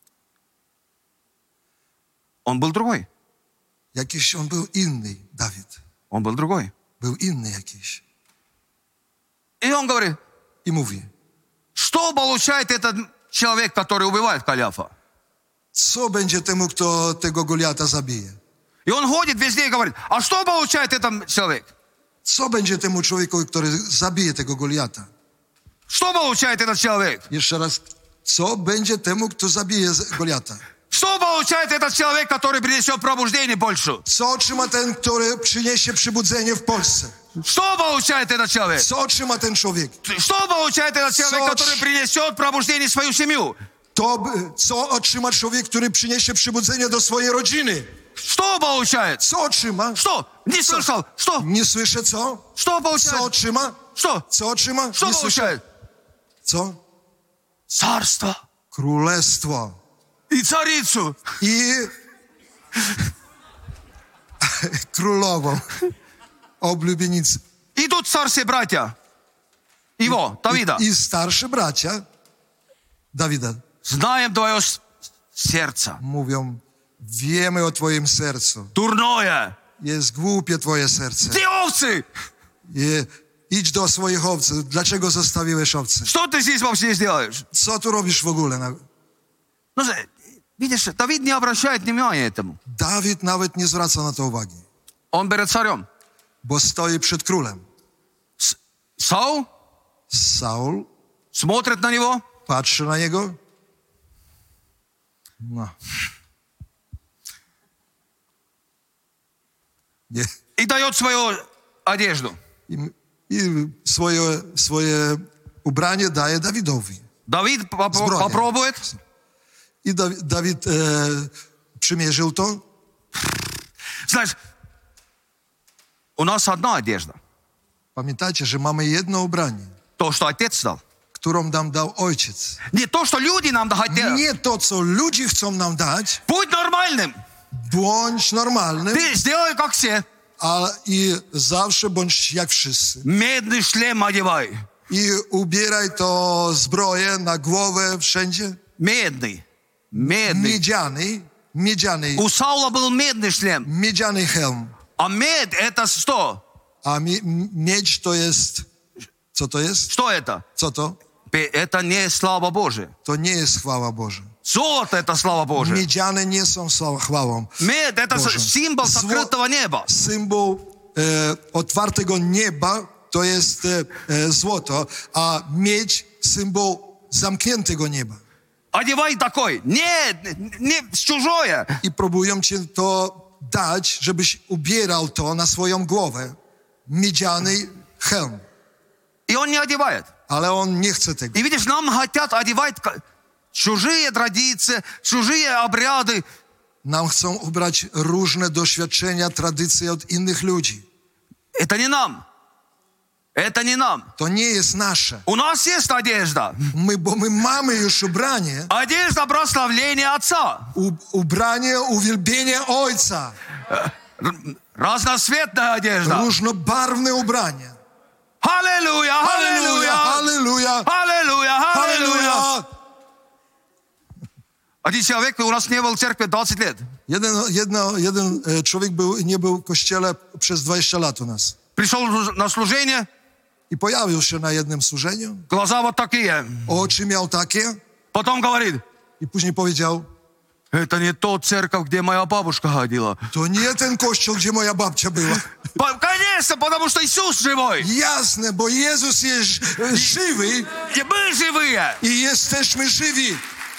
он был другой. Jakiś on był inny, Dawid. Он был другой. Był inny jakiś. И он говорит, I mówi, что получает этот человек, который убивает Голиафа? co będzie temu, kto tego Goliata zabije? И он ходит везде и говорит, а что получает этот человек? Co będzie temu człowiekowi, który zabije tego Goliata? Что получает этот человек? Jeszcze raz, co będzie temu, kto zabije Goliata? Что получает этот человек, который принесет пробуждение больше? Co otrzyma ten, który przyniesie przybudzenie w Polsce? Что получает этот человек? Co otrzyma ten człowiek? Что получает этот человек, Соч. который принесет пробуждение в свою семью? Co otrzyma człowiek, który przyniesie przybudzenie do swojej rodziny? Что получает? Co otrzyma? Что? Не слышал. Что? Nie słyszę co? Что Co получает? otrzyma? Что? Co otrzyma? Что Nie słyszę. получает? Co? Царство. Królestwo. И царицу. I królową. Oblubienicę. И тут старшие братья. Его, Давида. I starsi bracia Dawida Знаем твое сердце. mówią, wiemy o twoim sercu. Дурное. Jest głupie twoje serce. Ты овцы. Idź do swoich owców. Dlaczego zostawiłeś owce? Что ты здесь вообще делаешь? Co tu robisz w ogóle? Ну, видишь, Давид не обращает внимания этому. Dawid nawet nie zwraca na to uwagi, Он перед царем. bo stoi przed królem. Саул Saul смотрит на него. patrzy na niego. No. Nie. И дает свою одежду. I swoje ubranie daje Dawidowi. Давид Сброя. попробует. I Dawid przymierzył to. Знаешь, у нас одна одежда. Pamiętajcie, że mamy jedno ubranie, То, что отец дал. którą nam dał ojciec. Не то, что люди нам хотят. Nie to, co ludzie chcą nam dać. Будь нормальным. Bądź normalnym, Ты сделай, как все. i zawsze bądź jak wszyscy. Медный шлем одевай. I ubieraj to zbroję na głowę wszędzie. Медный. Miedziany У Саула был медный шлем. miedziany hełm. А медь это что? A miedź to jest, co to jest? Что это? Co to? Это не слава Божия. To nie jest chwała Boża. Золото это слава Божия. Miedziane nie są chwałą. Медь это Боже. символ закрытого неба. Symbol otwartego nieba to jest złoto, a miedź symbol zamkniętego nieba. Одевай такой. Не чужое. I próbują cię to dać, żebyś ubierał to na swoją głowę. Miedziany hełm. И он не одевает. Ale on nie chce tego. И видишь, нам хотят одевать чужие традиции, чужие обряды. Nam chcą ubrać różne doświadczenia, tradycje od innych ludzi. Это не нам. Это не нам. To nie jest nasze. У нас есть одежда. Bo my mamy już ubranie. Одежда прославления Отца. Ubranie uwielbienia Ojca. Разноцветная одежда. Różnobarwne ubranie. Аллилуйя, аллилуйя, Halleluja! аллилуйя, аллилуйя. Halleluja! Один человек у нас не был в церкви 20 лет. Jeden człowiek nie był w kościele przez 20 lat u nas. Пришел на служение, I pojawił się na jednym służeniu. глаза вот такие. Oczy miał takie. Потом говорит, I później powiedział, Это не тот церковь, где моя бабушка ходила. To nie ten kościół, gdzie moja babcia była. Конечно, потому что Иисус живой. Jasne, bo Jezus jest żywy И мы живые. i jesteśmy żywi.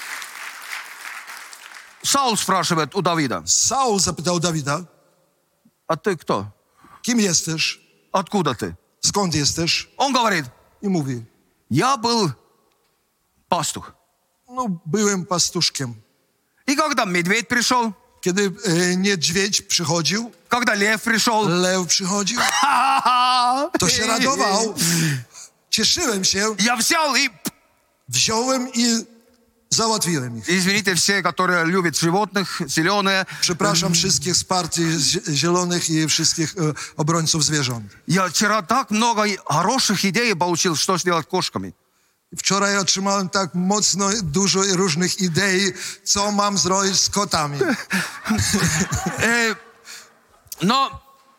Саул спрашивает у Давида: Saul zapytał Dawida, а ты кто? kim jesteś? Откуда ты? Skąd jesteś? Он говорит: I mówi, я был пастух. no byłem pastuszkiem. И когда медведь пришел, Kiedy niedźwiedź przychodził, когда лев пришел, lew przychodził, to się radował. Cieszyłem się, я взял и... wziąłem i załatwiłem ich. Извините все, которые любят животных, зеленые. Przepraszam wszystkich z partii zielonych i wszystkich obrońców zwierząt. Я вчера так много хороших идей получил, что сделать кошками. Wczoraj otrzymałem tak mocno dużo różnych idei, co mam zrobić z kotami. Но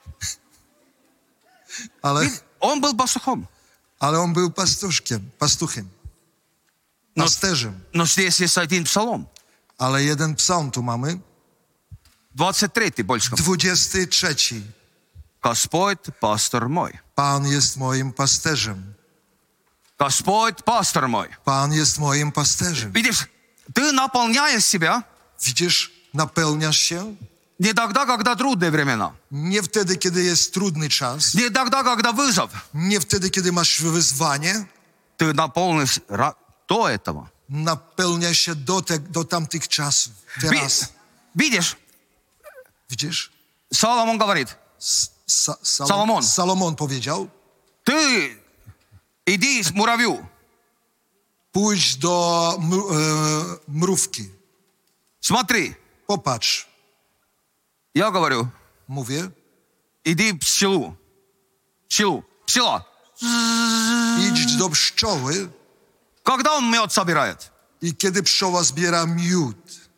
Ale, он был пастухом. ale on był pastuchem, pasterzem. Но здесь есть один псалом. Ale jeden psalm tu mamy, 23 больше. 23. Господь пастор мой. Pan jest moim pasterzem. Господь пастор мой. Pan jest moim pasterzem. Видишь, ты наполняешь себя Widzisz, napełniasz się не тогда, когда трудные времена. nie wtedy, kiedy jest trudny czas, Не тогда, когда вызов. nie wtedy, kiedy masz wyzwanie, Ты наполнишь до этого. napełniasz się do tamtych czasów. Teraz. Видишь, Widzisz? Соломон говорит: Salomon. Salomon powiedział, ты иди с муравью. pójdź do mrówki, Смотри, popatrz. я говорю, Mówię, иди в пчелу. Пчела. idź do pszczoły Когда он мед собирает? i kiedy pszczoła zbiera miód,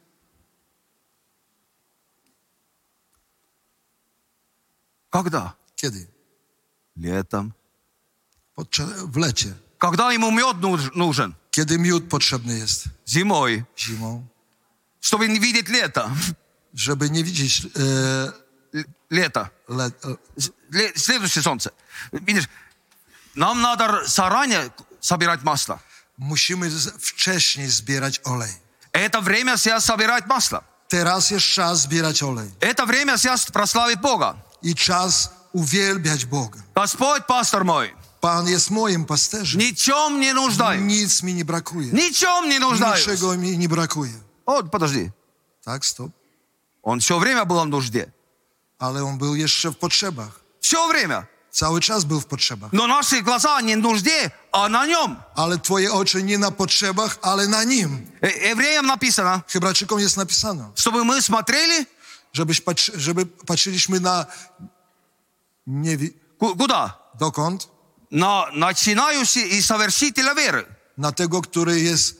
Когда? kiedy? Летом. W lecie. Когда ему мед нужен? Kiedy miód potrzebny jest? Зимой. Zimą. Чтобы не видеть лето. Żeby nie widzieć Лето. le, Следующее солнце. Видишь, нам надо заранее собирать масло. musimy wcześniej zbierać olej. Это время сейчас собирать масло. Teraz jest czas zbierać olej Это время сейчас прославить Бога. i czas uwielbiać Boga. Господь пастор мой. Pan jest moim pasterzem. Ничем не нуждаюсь. Nic mi nie brakuje. Ничем не нуждаюсь. Niczego mi nie brakuje. Вот, подожди. Tak, stop. Он все время был в нужде. Ale on był jeszcze w potrzebach. Все время. Cały czas był w potrzebach. Но наши глаза не в нужде, а на нем. Ale twoje oczy nie na potrzebach, ale na nim. Евреям написано, Hebrajczykom jest napisane, чтобы мы смотрели żeby patrzyliśmy na nie куда? dokąd? На начинающий и совершителя веры. Na tego, który jest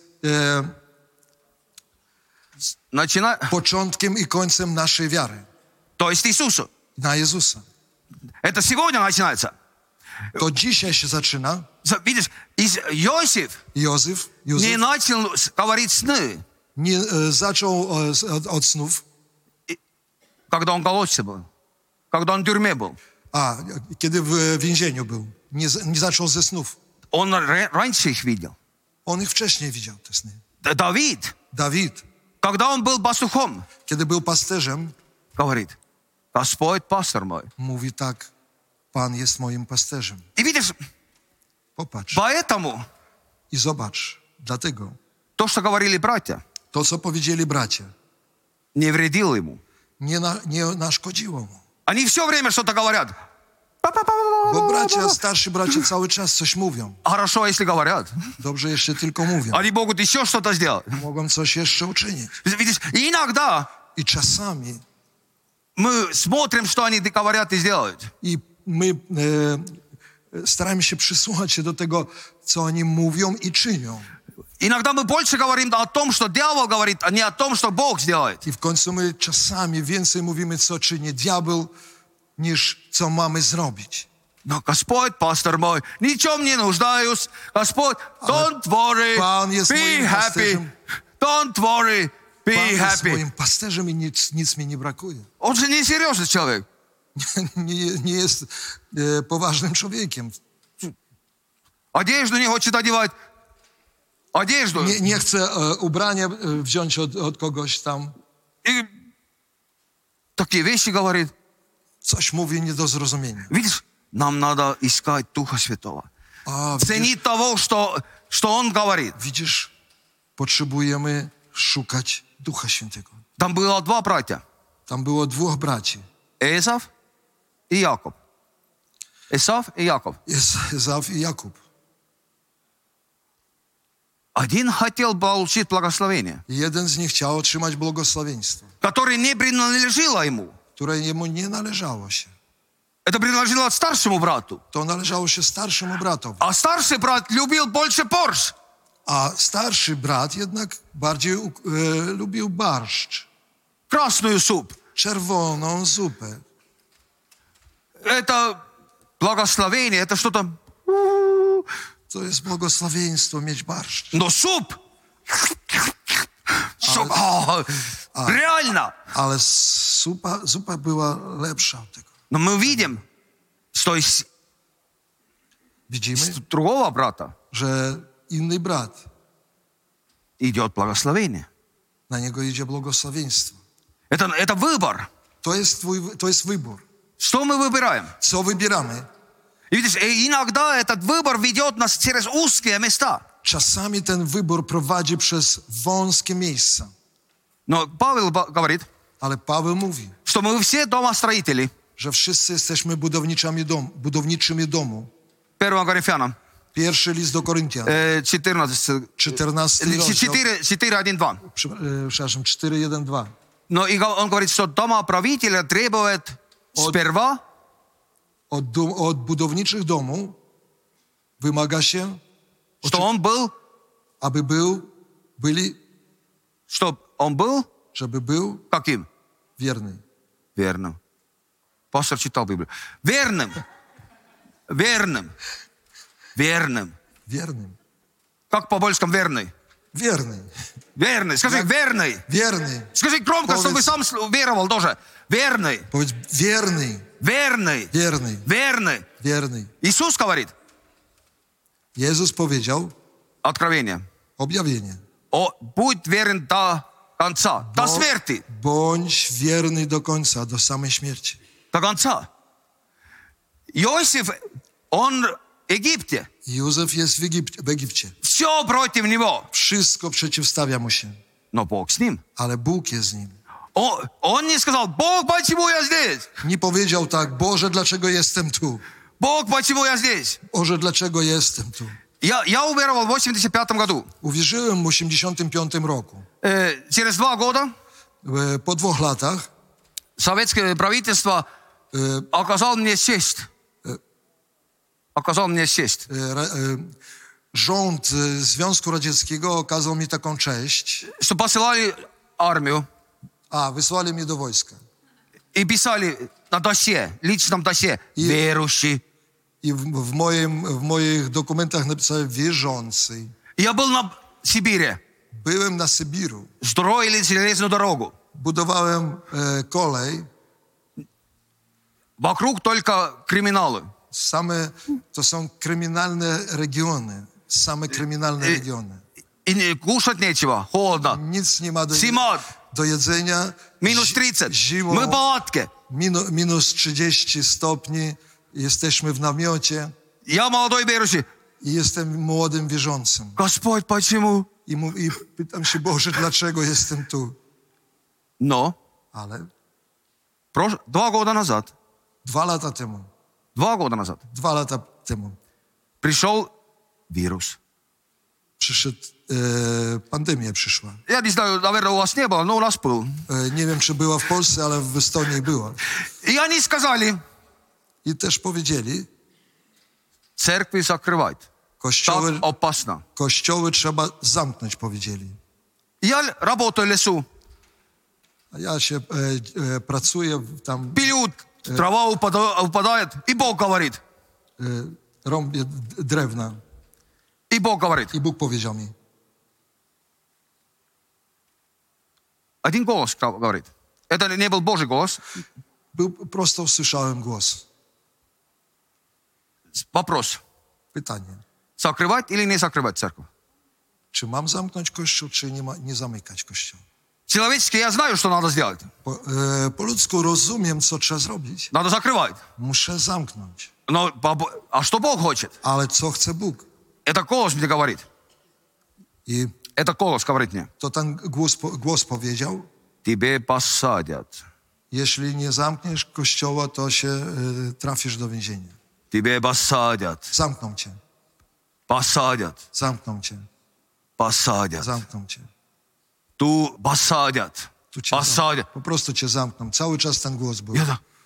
początkiem i końcem naszej wiary. То есть Иисусу. Na Jezusa. Это сегодня начинается. To dzisiaj się zaczyna. Видишь, Иосиф Józef не начал говорить сны, nie zaczął od snów, когда он в колодце был, когда он в тюрьме был. kiedy w więzieniu był. Nie zaczął ze snów. Он раньше их видел. On ich wcześniej widział, te sny. Давид, Dawid, когда он был пастухом, kiedy był pasterzem, говорит: Господь пастор мой. mówi tak, Pan jest moim pasterzem. И видишь, Popatrz поэтому i zobacz. Dlatego то, что говорили братья, to, co powiedzieli bracia, не вредило ему. nie naszkodziło mu. Они все время что-то говорят. Bo starsi bracia cały czas coś mówią. Хорошо, если говорят. Dobrze jeszcze tylko mówią. Они могут еще что-то сделать. Mogą coś jeszcze uczynić. Видишь, и иногда I czasami мы смотрим, что они говорят и делают. i my staramy się przysłuchać się do tego, co oni mówią i czynią. Иногда мы больше говорим о том, что дьявол говорит, а не о том, что Бог сделает. I w końcu my czasami więcej mówimy, co czyni diabeł, niż co mamy zrobić. Но Господь, пастор мой, ничем не нуждаюсь. Господь, don't worry, Pan jest be moim happy, pasterzem. don't worry. Be Pan jest happy. moim pasterzem i nic mi nie brakuje. Он же несерьезный человек. Nie jest poważnym człowiekiem. Одежду не хочет одевать. Одежду. Nie chce ubrania wziąć od kogoś tam. И такие вещи говорит. Coś mówi nie do zrozumienia. Видишь, нам надо искать Духа Святого. A Ценить того, что Он говорит. widzisz, potrzebujemy szukać Ducha Świętego. Там было два братья. Tam było dwóch braci. Эсав и Яков. Эсав и Яков. Jest Ezaf i Jakub. Один хотел получить благословение, Jeden z nich chciał otrzymać błogosławieństwo, которое не принадлежало ему. które jemu nie należało się. Это принадлежало старшему брату. To należało się starszemu bratowi. А старший брат любил больше борщ. A starszy brat jednak bardziej lubił barszcz, Красную суп. czerwoną zupę. Это благословение, это что-то... To jest błogosławieństwo mieć barszcz. Но суп... Суп... Реально. Ale zupa była lepsza od tego. Но мы видим, что из Widzimy, другого брата że inny brat, идет благословение. na niego idzie błogosławieństwo. Это выбор. To jest wybór. Что мы выбираем? Co wybieramy? И видишь, иногда этот выбор ведет нас через узкие места. Czasami ten wybór prowadzi przez wąskie miejsca. Но Павел говорит, Ale Paweł mówi, что мы все домостроители. że wszyscy jesteśmy budowniczymi domu. 1 Коринфянам Pierwszy list do Koryntian, 14, 14 rozdział, 4:1-2. przepraszam, 4:1-2. Но и он говорит, что домоправителя требует сперва Od budowniczych domu wymaga się, что он был, żeby był каким? wierny. Верным. Пастор читал Библию. Верным. Верным. Верным. Wiernym. Как по-польскому верный? Wierny. Верный. Скажи, верный. Wierny. Скажи громко, чтобы сам веровал тоже. Верный. Powiedz wierny. Верный. Wierny. Верный. Wierny. Иисус говорит, Jezus powiedział, Откровение, objawienie. будь верен до конца, до смерти. Bądź wierny do końca, do samej śmierci. До конца. Иосиф, он в Египте. Józef jest w Egipcie. Все против него. Wszystko przeciwstawia mu się, Но Бог с ним. ale Bóg jest z nim. Он не сказал, Бог, почему я здесь? Nie powiedział tak, Boże, dlaczego jestem tu? Бог, почему я здесь? Boże, dlaczego jestem tu? Я уверовал в 85 году. Uwierzyłem w 85 roku. Через 2 года Po 2 latach советское правительство оказало мне честь. Оказал мне честь. Rząd Związku Radzieckiego okazał mi taką cześć. Что посылали армию Wysłali mnie do wojska. и писали на досе, личном досе, верующий. I w moich dokumentach napisałem wierzący. Я был на Сибири. Byłem na Sybiru. Строили железную дорогу. Budowałem kolej. Вокруг только криминалы. To są kryminalne regiony. Same kryminalne regiony. И кушать нечего, холодно. Nic nie ma Зима, do jedzenia. минус 30. Zimą Мы в палатке. minus 30 stopni. Jesteśmy w namiocie. Я молодой верующий. I jestem młodym wierzącym. Господь, почему? I pytam się, Boże, dlaczego jestem tu? Но Ale 2 года назад, 2 lata temu, 2 года назад 2 lata temu пришел вирус. Pandemia przyszła. Я не знаю, наверное, у вас не было, но у нас был. Nie wiem, czy była w Polsce, ale w Estonii była. И они сказали, I też powiedzieli, церкви закрывать. Так опасно. kościoły trzeba zamknąć, powiedzieli. Я работаю в лесу. A ja się pracuję tam, Пилют, трава упадает, и Бог говорит. rąbię drewna. И Бог говорит, I Bóg powiedział mi, Один голос говорит. Это не был Божий голос. Prosto usłyszałem głos. Вопрос. Pytanie. Закрывать или не закрывать церковь? Czy mam zamknąć kościół, czy nie zamykać kościoła? Человечески я знаю, что надо сделать. Po ludzku rozumiem, co trzeba zrobić. Надо закрывать. Muszę zamknąć. Но, а что Бог хочет? Ale co chce Bóg? Это голос мне говорит. I Это голос говорит мне. to ten głos powiedział, Тебе посадят. jeśli nie zamkniesz kościoła, to się trafisz do więzienia. Тебе посадят. Zamkną cię, Посадят. zamkną cię, Посадят. zamkną cię. Ту посадят. Tu cię Посадят. po prostu cię zamkną. Cały czas ten głos był.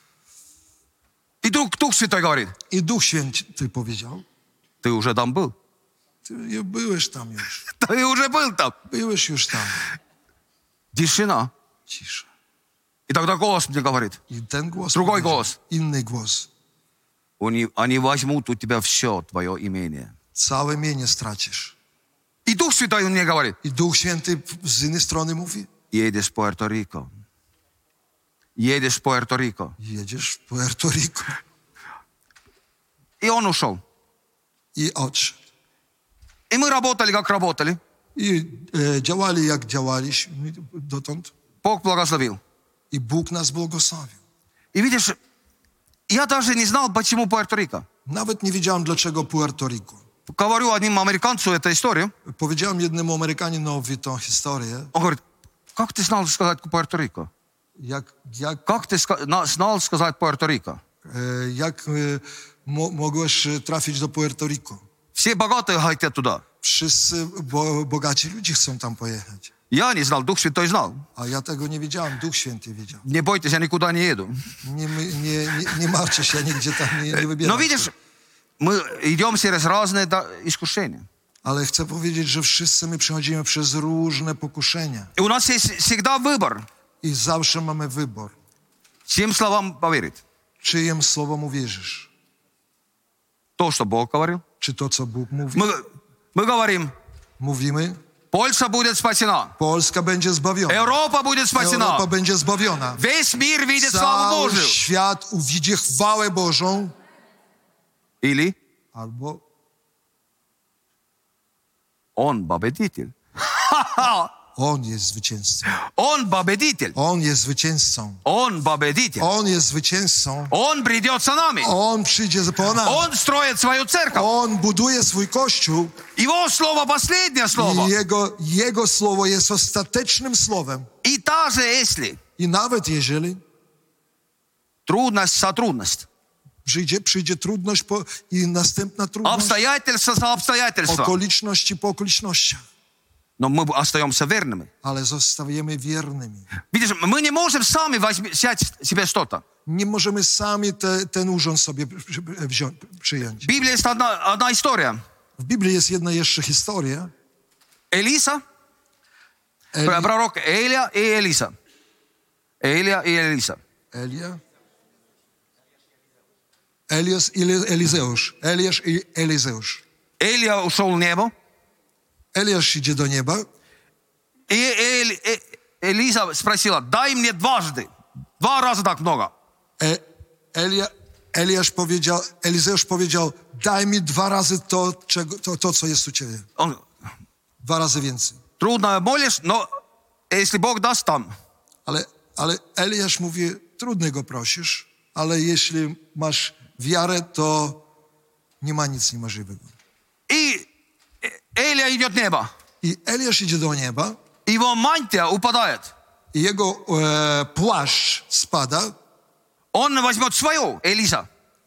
И Дух Святой говорит, I Duch Święty powiedział, ты уже там был. ty byłeś tam już. Ты уже был там. Byłeś już tam. Тишина. Cisza. И тогда голос мне говорит, I ten głos Другой powiedział, głos. inny głos. они возьмут у тебя все твое имение. Całe mienie stracisz. И Дух Святой мне говорит, I Duch Święty z innej strony mówi, едешь в Пуэрто-Рико. Едешь в Пуэрто-Рико. jedziesz w Puerto Rico. И он ушел. I odszedł. И мы работали, как работали. I działali jak działaliśmy dotąd. Бог благословил. I Bóg nas błogosławił. И видишь, я даже не знал, почему Пуэрто-Рико. Nawet nie wiedziałem, dlaczego Puerto Rico. Говорю одним американцу эту историю. Powiedziałem jednemu Amerykaninowi tą historię, Он говорит, как ты знал сказать Пуэрто-Рико? Как ты знал сказать Пуэрто-Рико? jak mogłeś trafić do Puerto Rico. Все богатые хотят туда. Wszyscy bogaci ludzie chcą tam pojechać. Я не знал, Дух Святой знал. A ja tego nie wiedziałem, Duch Święty wiedział. Не бойтесь, я никуда не еду. Nie martwcie się, ja nigdzie tam nie wybieram. Но видишь, мы идем через разные искушения. Ale chcę powiedzieć, że wszyscy my przechodzimy przez różne pokuszenia. И у нас есть всегда выбор, I zawsze mamy wybór. чьим словам поверить. Czyjem słowom uwierzysz? То, что Бог говорил. Czy to, co Bóg mówi? Мы говорим, Mówimy, Польша будет спасена. Polska będzie zbawiona. Europa будет спасена. Europa będzie zbawiona. Весь мир видит славу Cały Божию. świat uwidzi chwałę Bożą. Или Albo он победитель. On jest zwycięzcą. Он победитель. On jest zwycięzcą. Он победитель. On jest zwycięzcą. Он придет за нами. On przyjdzie po nas. Он строит свою церковь. On buduje swój kościół. Его слово последнее слово. I jego słowo jest ostatecznym słowem. И даже если I nawet jeżeli трудность за трудность, przyjdzie trudność i następna trudność, обстоятельства за обстоятельства, okoliczności po okolicznościach, но мы остаемся верными. ale zostajemy wiernymi. Видишь, мы не можем сами взять себе что-то. Nie możemy sami ten urząd sobie przyjąć. В Библии есть одна история. W Biblii jest jedna jeszcze historia. Элиса, пророк Элия и Элиса. Элия и Элиса. Eliasz i Elizeusz. Eliasz i Elizeusz. Элия ушел в небо. Eliasz idzie do nieba. И Элиса спросила, дай мне дважды. 2 раза так много. Elizeusz powiedział, daj mi 2 razy to, co jest u ciebie. Он, 2 razy więcej. трудно молишь, но если Бог даст там. Ale Eliasz mówi, trudno go prosisz, ale jeśli masz wiarę, to nie ma nic niemożliwego. И Элия идет в небо. I Eliasz idzie do nieba. Его мантия упадает. I jego płaszcz spada. Он возьмет свое, Элиса.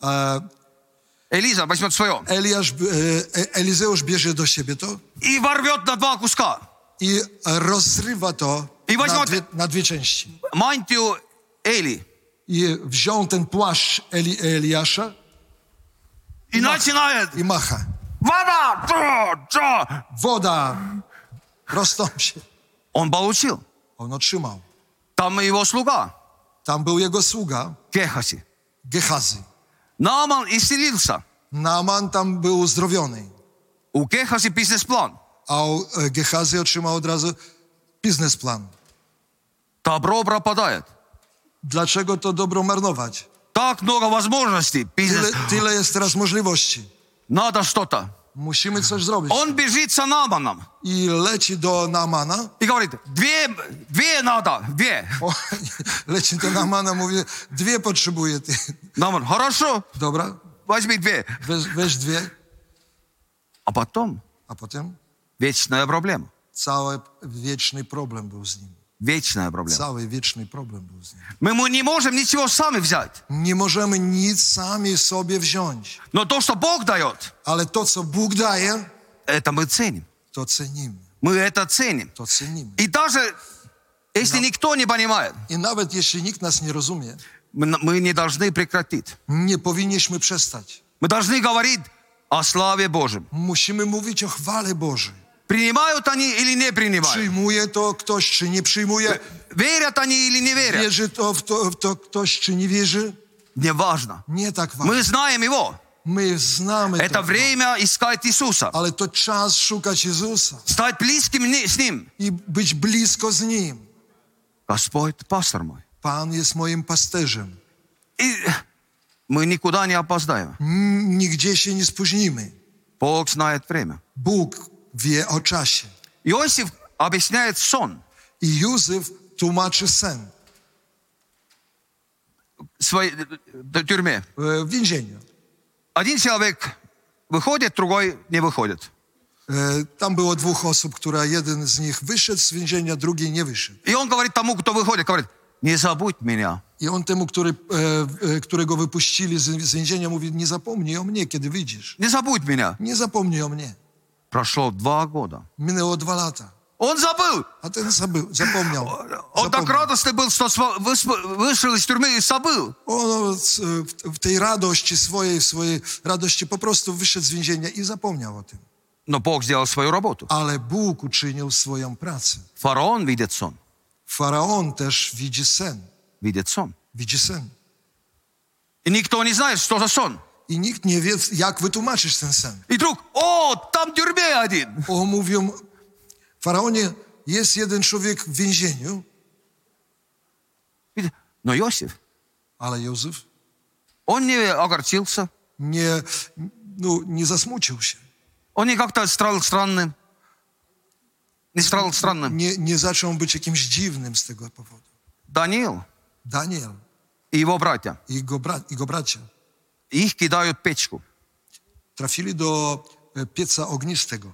Элиса возьмет свое. Elizeusz bierze do siebie to. И ворвет на 2 куска. I rozrywa to na 2 części. Мантию Эли. I wziął ten płaszcz Eliasza И начинает. i macha. Вода! Woda rozstąpi się. Он получил. On otrzymał. Там его слуга. Tam był jego sługa Гехази. Gehazi. Нааман исцелился. Naaman tam był uzdrowiony. У Гехази бизнес-план. A Gehazi otrzymał od razu biznesplan. Добро пропадает. Dlaczego to dobro marnować? Так много возможностей. Tyle jest teraz możliwości. Надо что-то. Musimy coś zrobić. Он бежит за Нааманом I leci do Naamana. и говорит, две надо, две. Leci do Naamana, mówi, 2 potrzebuję. Ty. Нааман, хорошо, Dobra, возьми 2. weź 2. А потом A potem вечная проблема. cały wieczny problem był z nim. Вечная проблема. Cały wieczny problem był z nim. Мы не можем ничего сами взять. Nie możemy nic sami sobie wziąć. Но то, что Бог дает, Ale to, co Bóg daje, это мы ценим. to cenimy. Мы это ценим. To cenimy. И даже если никто не понимает, I nawet jeśli nikt nas nie rozumie, мы не должны прекратить. nie powinniśmy przestać. Мы должны говорить о славе Божьем. Musimy mówić o chwale Bożej. Принимают они или не принимают? Przyjmuje to ktoś, czy nie przyjmuje. Верят они или не верят? Wierzy w to ktoś, czy nie wierzy. Неважно. Nie tak ważne. Мы знаем Его. My znamy Это to. время искать Иисуса. Ale to czas szukać Jezusa Стать близким с Ним. i być blisko z Nim. Господь, пастор мой. Pan jest moim pasterzem. И мы никуда не опоздаем. Nigdzie się nie spóźnimy. Бог знает время. Bóg wie o czasie. Иосиф объясняет сон I Józef tłumaczy sen в своей тюрьме. w więzieniu. Один человек выходит, другой не выходит. Tam było 2 osób, która jeden z nich wyszedł z więzienia, drugi nie wyszedł. И он говорит тому, кто выходит, говорит, не забудь меня. I on temu, którego wypuścili z więzienia, mówi, nie zapomnij o mnie, kiedy wyjdziesz. Не забудь меня. Nie zapomnij o mnie. Прошло 2 года. Minęło 2 lata. Он забыл. A ten zapomniał. Он так радостный был, что вышел из тюрьмы и забыл. On w tej radości swojej radości po prostu wyszedł z więzienia i zapomniał o tym. Но Бог сделал свою работу. Ale Bóg uczynił swoją pracę. Фараон видит сон. Faraon też widzi sen. Видит сон. Widzi sen. И никто не знает, что за сон. I nikt nie wie, jak wytłumaczyć ten sen. И вдруг, там в тюрьме один. Mówią, Faraonie, jest jeden człowiek w więzieniu, Но Иосиф, ale Józef он не огорчился. nie zasmucił się. Он не как-то стал странным. Не стал странным. Nie zaczął być jakimś dziwnym z tego powodu. Даниил Daniel и его братья, i jego bracia их кидают в печку. trafili do pieca ognistego,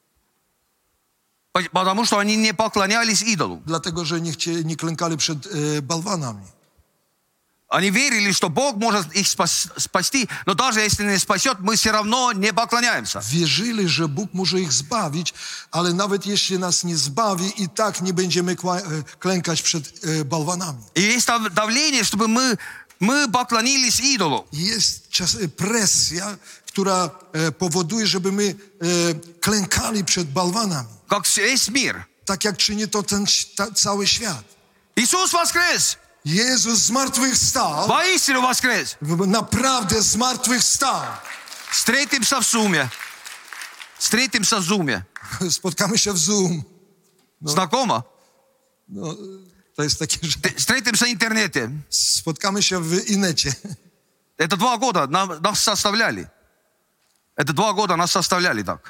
Потому что они не поклонялись идолу. dlatego że nie klękali przed bałwanami. Они верили, что Бог может их спасти, но даже если не спасет, мы все равно не поклоняемся. Wierzyli, że Bóg może ich zbawić, ale nawet jeśli nas nie zbawi, i tak nie będziemy klękać przed bałwanami. И есть давление, чтобы мы поклонились идолу. Jest presja, która powoduje, żeby my klękali przed bałwanami. Как весь мир. Tak jak czyni to cały świat. Иисус воскрес! Jezus zmartwychwstał. Воистину воскрес! Naprawdę zmartwychwstał. Встретимся в Зуме. Встретимся в Зуме. Spotkamy się w Zoom. Знакомо? To jest takie, że Встретимся в интернете. spotkamy się w inecie. Это 2 года нас составляли. Это 2 года нас составляли так.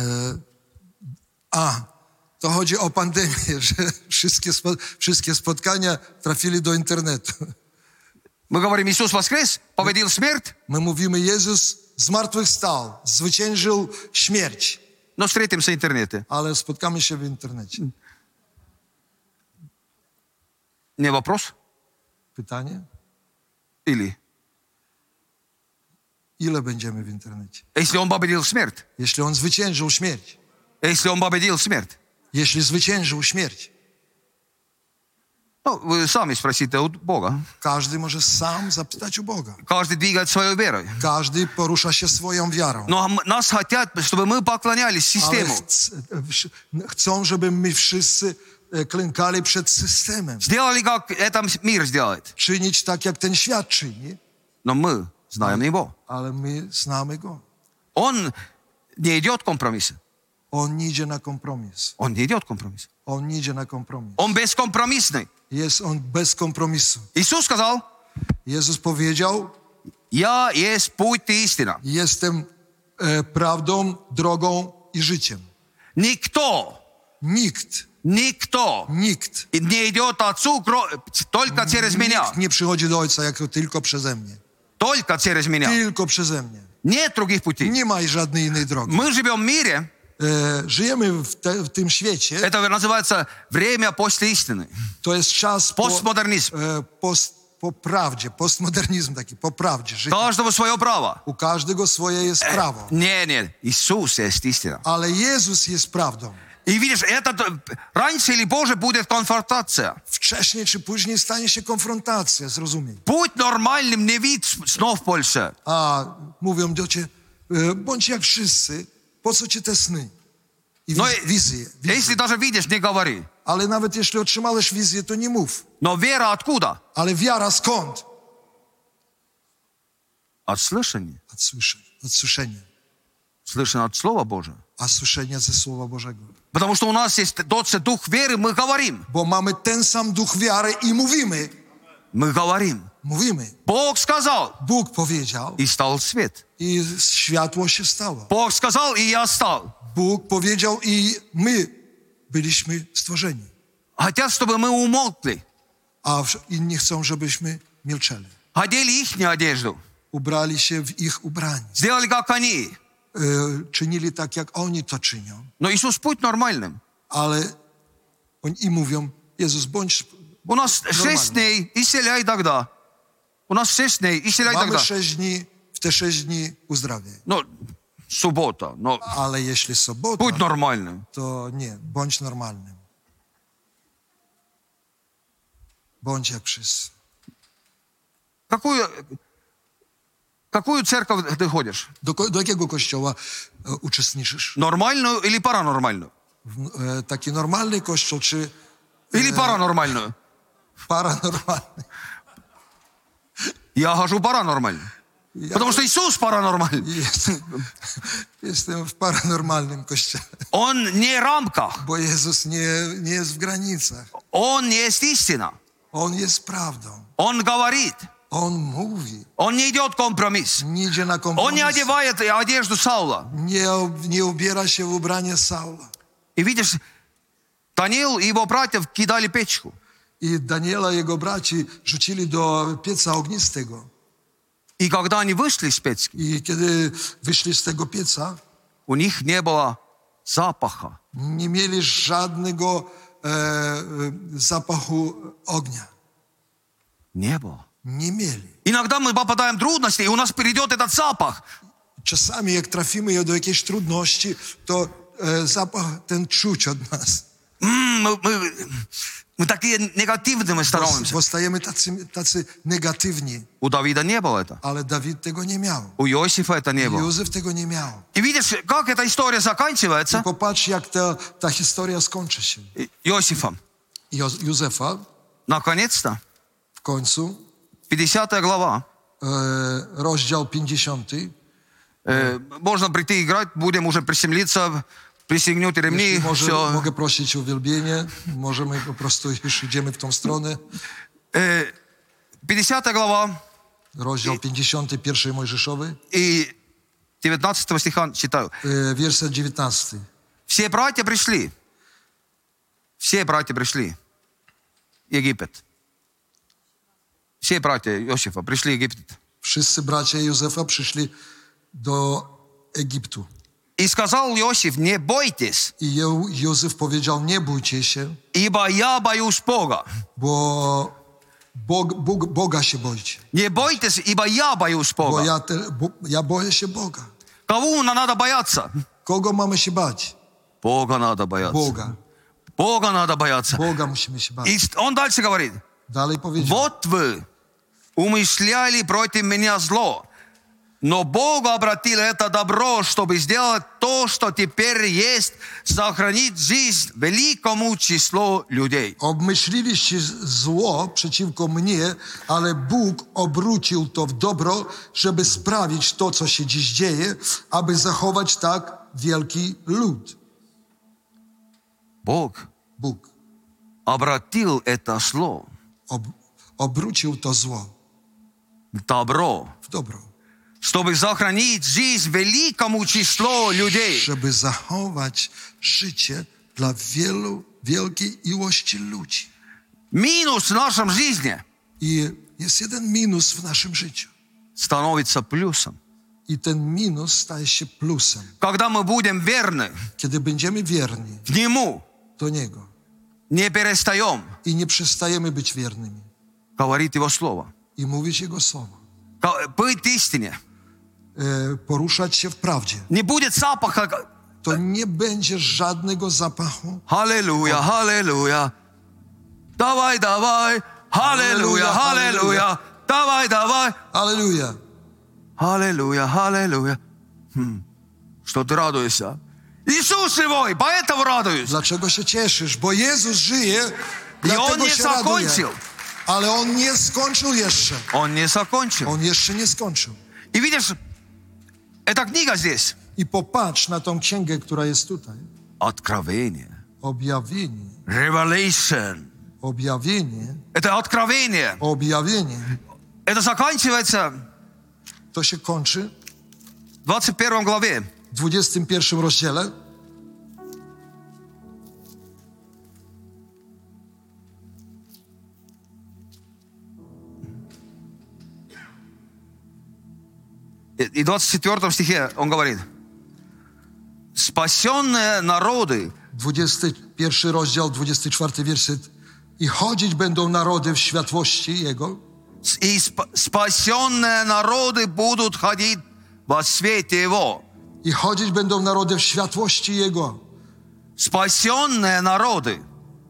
To chodzi o pandemię, że wszystkie spotkania trafili do internetu. Мы говорим, Иисус воскрес, победил смерть, My mówimy, Jezus zmartwychwstał, zwyciężył śmierć, но встретимся в интернете. ale spotkamy się w internecie. Не вопрос? Pytanie? Или? Ile będziemy w internecie? Если он победил смерть. Jeśli on zwyciężył śmierć. Если он победил смерть. Jeśli zwyciężył śmierć. Ну, вы сами спросите у Бога. Każdy może sam zapytać u Boga. Каждый двигает своей верой. Każdy porusza się swoją wiarą. Но нас хотят, чтобы мы поклонялись Ale систему. chcą, żeby my wszyscy klękali przed systemem. Сделали, как это мир сделает. Czynić tak, jak ten świat czyni. Но мы знаем Его. Ale my znamy Go. Он не идет компромисса. On nie idzie na kompromis. Он не идет компромисса. On nie idzie na kompromis. Он бескомпромиссный. Jest on bez kompromisu. Иисус сказал, Jezus powiedział, я есть путь и истина. jestem prawdą, drogą i życiem. Никто Nikt не идет Отцу только через меня. Nikt nie przychodzi do Ojca jako tylko przeze mnie. Только через меня. Tylko przeze mnie. Нет других путей. Nie ma żadnej innej drogi. Мы живем в мире, Żyjemy w tym świecie. это называется время после истины. To jest czas Постмодернизм. po prawdzie. Postmodernizm taki, po prawdzie. Życie. Каждого свое право. U każdego swoje jest prawo. Нет, Иисус есть истина. Ale Jezus jest prawdą. И видишь, это раньше или позже будет конфронтация. Wcześniej czy później stanie się konfrontacja, zrozumiem. Будь нормальным, не видь снов в Польше. A mówią do ciebie, bądź jak wszyscy, po co ci te sny? I No wizje. Если даже видишь, не говори. Ale nawet jeśli otrzymałeś wizję, to nie mów. Но вера откуда? Ale wiara skąd? От слышания. Od słyszenia. Слышание от Слова Божия. A słyszenia ze Słowa Bożego. Потому что у нас есть тот же дух веры, мы говорим. Bo mamy ten sam duch wiary i mówimy. Мы говорим. Mówimy. Бог сказал, Bóg powiedział и стал свет. i światło się stało. Бог сказал, и я стал. Bóg powiedział i my byliśmy stworzeni. Хотят, чтобы мы умолкли. A inni chcą, żebyśmy milczeli. Одели их одежду. Ubrali się w ich ubranie. Сделали, как они. Czynili tak, jak oni to czynią. Но Иисус путь нормальным. Ale oni mówią, Jezus, bądź... У нас 6 дней, исцеляй тогда. У нас 6 дней, исцеляй Mamy тогда. 6 dni, w te 6 dni uzdrawiaj. Ну, суббота. Но Ale jeśli sobota, будь нормальным. to nie, bądź normalnym. Bądź jak wszyscy. Какую церковь ты ходишь? Do jakiego kościoła uczestniczysz? Нормальную или паранормальную? Taki normalny kościół, czy Или паранормальную? paranormalny? Я хожу паранормально. Потому что Иисус паранормальный. Jestem w paranormalnym kościele, Он не в рамках. bo Jezus nie jest w granicach. Он есть истина. On jest prawdą. Он говорит. On mówi. Он не идет компромисс. Nie idzie na Он kompromis. не одевает одежду Саула. Nie ubiera się w ubranie Saula. И видишь, Даниил и его братьев кидали печку. I Daniela i jego braci rzucili do pieca ognistego. И когда они вышли из печки, I kiedy wyszli z tego pieca, у них не было запаха. nie mieli żadnego zapachu ognia. Не было. Nie mieli. Иногда мы попадаем в трудности, и у нас перейдет этот запах. Czasami jak trafimy do jakiejś trudności, to zapach ten czuć od nas. Мы такие негативными становимся. Bo stajemy tacy negatywni. У Давида не было это. Ale Dawid tego nie miał. У Иосифа это не было. Józef tego nie miał. И видишь, как эта история заканчивается? Popatrz, jak ta historia skończy się. Иосифом. Józefa Наконец-то, w końcu, 50 глава. rozdział 50. Можно прийти играть, будем уже приземлиться, пристегнете ремни, все. Mogę prosić o uwielbienie. Możemy po prostu już idziemy w tą stronę. 50 глава Rozdział 51 Mojżeszowy, и 19 стиха читаю. werset 19. Все братья пришли. Все братья пришли. Египет. Все братья Иосифа пришли в Египет. Wszyscy bracia Józefa przyszli do Egiptu. И сказал Иосиф, не бойтесь, I Józef powiedział, nie bójcie się, ибо я боюсь Бога. bo Boga się boicie. Не бойтесь, ибо я боюсь Bo Бога. ja boję się Boga. Кого надо бояться? Kogo mamy się bać? Бога надо бояться. Boga. Бога надо бояться. Boga musimy się bać. И он дальше говорит, Dalej powiedział, вот вы умышляли против меня зло, но Бог обратил это добро, чтобы сделать то, что теперь есть, сохранить жизнь великому числу людей. obmyśliliście zło przeciwko mnie, ale Bóg obrócił to w dobro, żeby sprawić to, co się dziś dzieje, aby zachować tak wielki lud. Бог Bóg обратил это зло obrócił to zło в добро, w dobro, чтобы сохранить жизнь великому числу людей. żeby zachować życie dla wielkiej ilości ludzi. Минус в нашем жизни I jest jeden minus w naszym życiu. становится плюсом. I ten minus staje się plusem. Когда мы будем верны Kiedy będziemy wierni к Нему, do Niego не перестаем i nie przestajemy być wiernymi говорить Его Слово, i mówić Jego słowo, быть истине, poruszać się w prawdzie, не будет запаха. to nie będzie żadnego zapachu. Аллилуйя, аллилуйя. Давай, давай. Аллилуйя, аллилуйя. Давай, давай. Alleluja! Аллилуйя, аллилуйя. Что ты радуешься? Иисус живой, поэтому радуюсь. Dlaczego się cieszysz? Bo Jezus żyje, I On dlatego nie się raduję. zakończył. Ale On nie skończył jeszcze. Он не закончил. On jeszcze nie skończył. И видишь, эта книга здесь. I popatrz na tą księgę, która jest tutaj. Откровение. Objawienie. Revelation. Objawienie. Это откровение. Objawienie. Это заканчивается To się kończy в 21 главе. w 21 rozdziale. И в 24 стихе он говорит: спасенные народы 21 rozdział, 24 werset. I chodzić będą narody w światłości Jego. и спасенные народы будут ходить во свете Его. I chodzić będą narody w światłości Jego. Спасенные народы.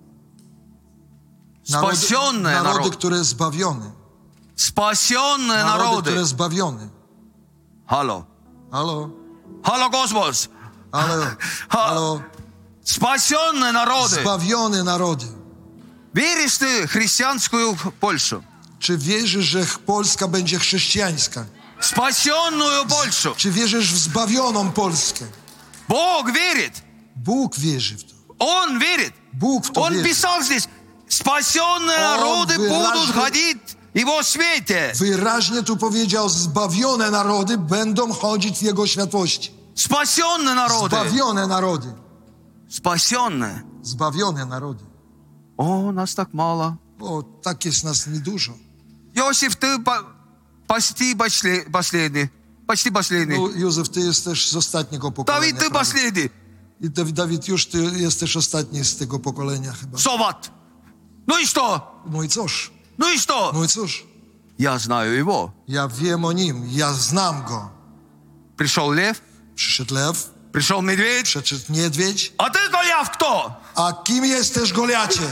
Спасенные Narody, народы. które zbawione. Спасенные Narody, które народы. zbawione. Halo. Halo? Halo, kosmos. Halo? Halo? Спасенные народы. Zbawione narody. Веришь ты в христианскую Польшу? Czy wierzysz, że Polska będzie chrześcijańska? Спасенную Польшу. Czy wierzysz w zbawioną Polskę? Бог верит. Bóg wierzy w to. Он верит. Bóg w to Он wierzy. писал здесь: спасенные Он народы будут выражен- ходить в Его свете. Wyraźnie tu powiedział, zbawione narody będą chodzić w Jego światłości. Спасенные народы. Zbawione narody. Спасенные. Zbawione narody. О, нас так мало. O, tak jest nas niedużo. Иосиф, ты почти последний. Почти последний. No, Józef, ty jesteś z ostatniego pokolenia. Давид, ты prawie. последний. I Dawid, już ty jesteś ostatni z tego pokolenia chyba. Соват. Ну и что? No i cóż? Ну и что? No i cóż? Я знаю его. Ja wiem o nim, ja znam go. Пришел лев, Przyszedł lew, пришел медведь. przyszedł niedźwiedź. А ты, Голиаф, кто? A kim jesteś, Goliacie?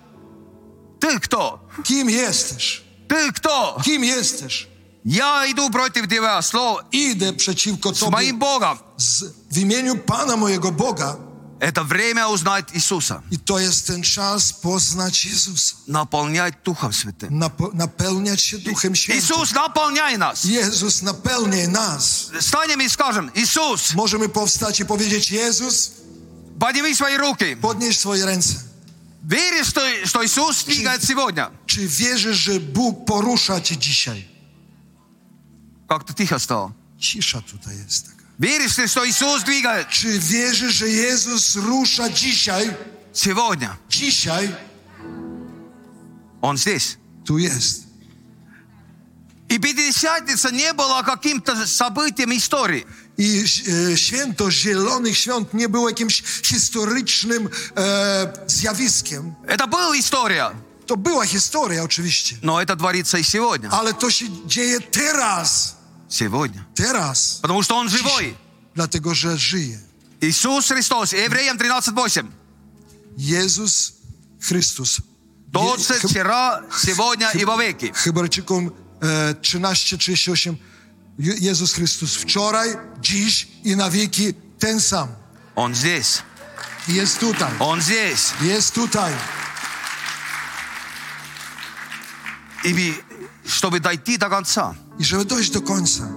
Ты кто? Kim jesteś? Ты кто? Kim jesteś? Я иду против тебя, слово, Idę przeciwko с tobie моим Богом. w imieniu Pana mojego Boga. Это время узнать Иисуса. I to jest ten czas poznać Jezusa. Наполнять Духом Святым. Napełniać się Duchem Świętym. Иисус, наполняй нас. Jezus, napełniaj nas. Станем и скажем: Иисус, Możemy powstać i powiedzieć: Jezus, подними свои руки. podnieś swoje ręce. Веришь, что Иисус двигает сегодня? Czy wierzysz, że Bóg porusza cię dzisiaj? Как-то тихо стало. Cisza tutaj jest taka. Веришь ты, что Иисус двигает Czy wierzysz, że Jezus rusza dzisiaj? сегодня? Dzisiaj Он здесь. tu jest. И Пятидесятница не была каким-то событием истории. I święto Zielonych Świąt nie było jakimś historycznym zjawiskiem. Это была история, To była historia oczywiście, но это творится и сегодня. ale to się dzieje teraz. Сегодня. Teraz. Потому что Он живой. Dlatego, że żyje. Иисус Христос. Евреям 13:8. Jezus Chrystus. Тот же вчера, сегодня и во веки. Hebrajczykom 13:38. Jezus Chrystus wczoraj, dziś i na wieki ten sam. Он здесь. Jest tutaj. Он здесь. Jest tutaj. И чтобы дойти до конца, I żeby dojść do końca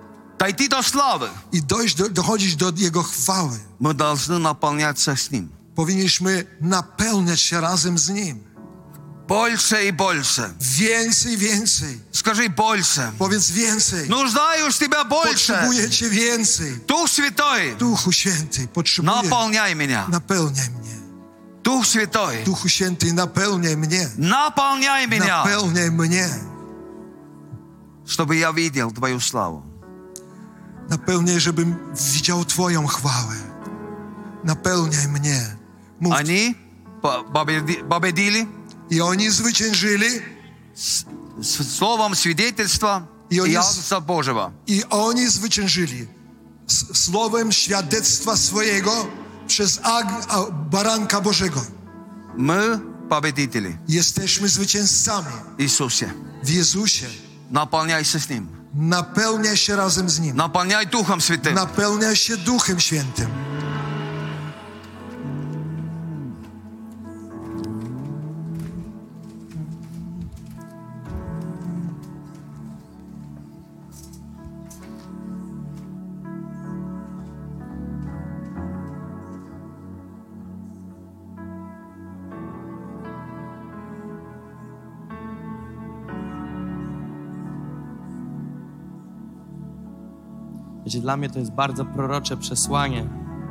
дойти до славы, i dochodzić do Jego chwały, мы должны наполняться с Ним. powinniśmy napełniać się razem z Nim. Больше и больше. Więcej, więcej. Скажи больше. Powiedz więcej. Нуждаюсь в тебя больше. Potrzebuję Cię więcej. Дух Святой, Duchu Święty, potrzebuję. наполняй меня. Napełniaj mnie. Дух Святой, Duchu Święty, napełniaj mnie. наполняй меня, Napełniaj mnie. чтобы я видел Твою славу. Napełniaj, żebym widział Twoją chwałę. Napełniaj mnie. Mów. Они победили I oni zwyciężyli. словом свидетельства И они Иисуса Божьего. I oni zwyciężyli słowem świadectwa swojego przez baranka Bożego. Мы победители. Jesteśmy zwycięzcami Иисусе. w Jezusie. Наполняйся с Ним. Napełniaj się razem z Nim. Наполняй Духом Святым. Napełniaj się Duchem Świętym. Wiecie, dla mnie to jest bardzo prorocze przesłanie.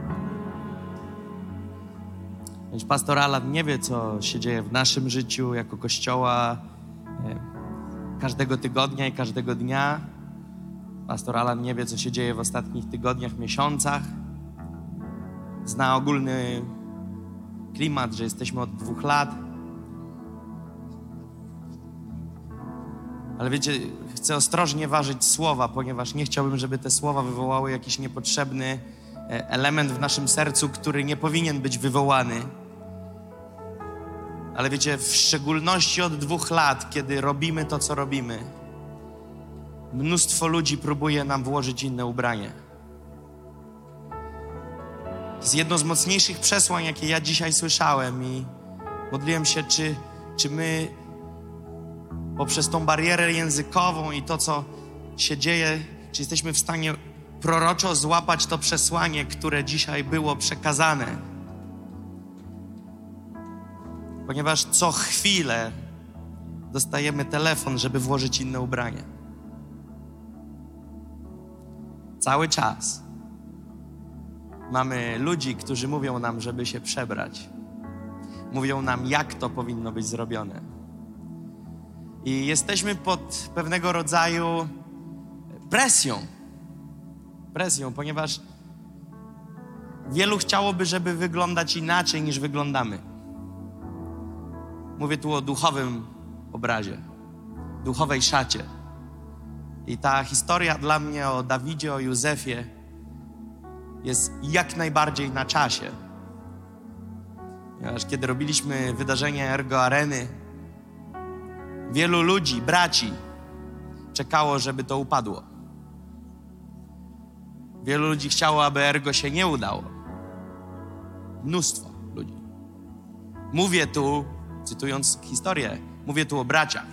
Więc pastor Alan nie wie, co się dzieje w naszym życiu jako Kościoła każdego tygodnia i każdego dnia. Pastor Alan nie wie, co się dzieje w ostatnich tygodniach, miesiącach. Zna ogólny klimat, że jesteśmy od 2 lat. Ale wiecie, chcę ostrożnie ważyć słowa, ponieważ nie chciałbym, żeby te słowa wywołały jakiś niepotrzebny element w naszym sercu, który nie powinien być wywołany. Ale wiecie, w szczególności od 2 lat, kiedy robimy to, co robimy, mnóstwo ludzi próbuje nam włożyć inne ubranie. To jest jedno z mocniejszych przesłań, jakie ja dzisiaj słyszałem i modliłem się, czy my poprzez tą barierę językową i to, co się dzieje, czy jesteśmy w stanie proroczo złapać to przesłanie, które dzisiaj było przekazane. Ponieważ co chwilę dostajemy telefon, żeby włożyć inne ubranie. Cały czas mamy ludzi, którzy mówią nam, żeby się przebrać. Mówią nam, jak to powinno być zrobione. I jesteśmy pod pewnego rodzaju presją, ponieważ wielu chciałoby, żeby wyglądać inaczej niż wyglądamy. Mówię tu o duchowym obrazie, duchowej szacie. I ta historia dla mnie o Dawidzie, o Józefie jest jak najbardziej na czasie. Ponieważ kiedy robiliśmy wydarzenie Ergo Areny, wielu ludzi, braci, czekało, żeby to upadło. Wielu ludzi chciało, aby Ergo się nie udało. Mnóstwo ludzi. Mówię tu, cytując historię, mówię tu o braciach.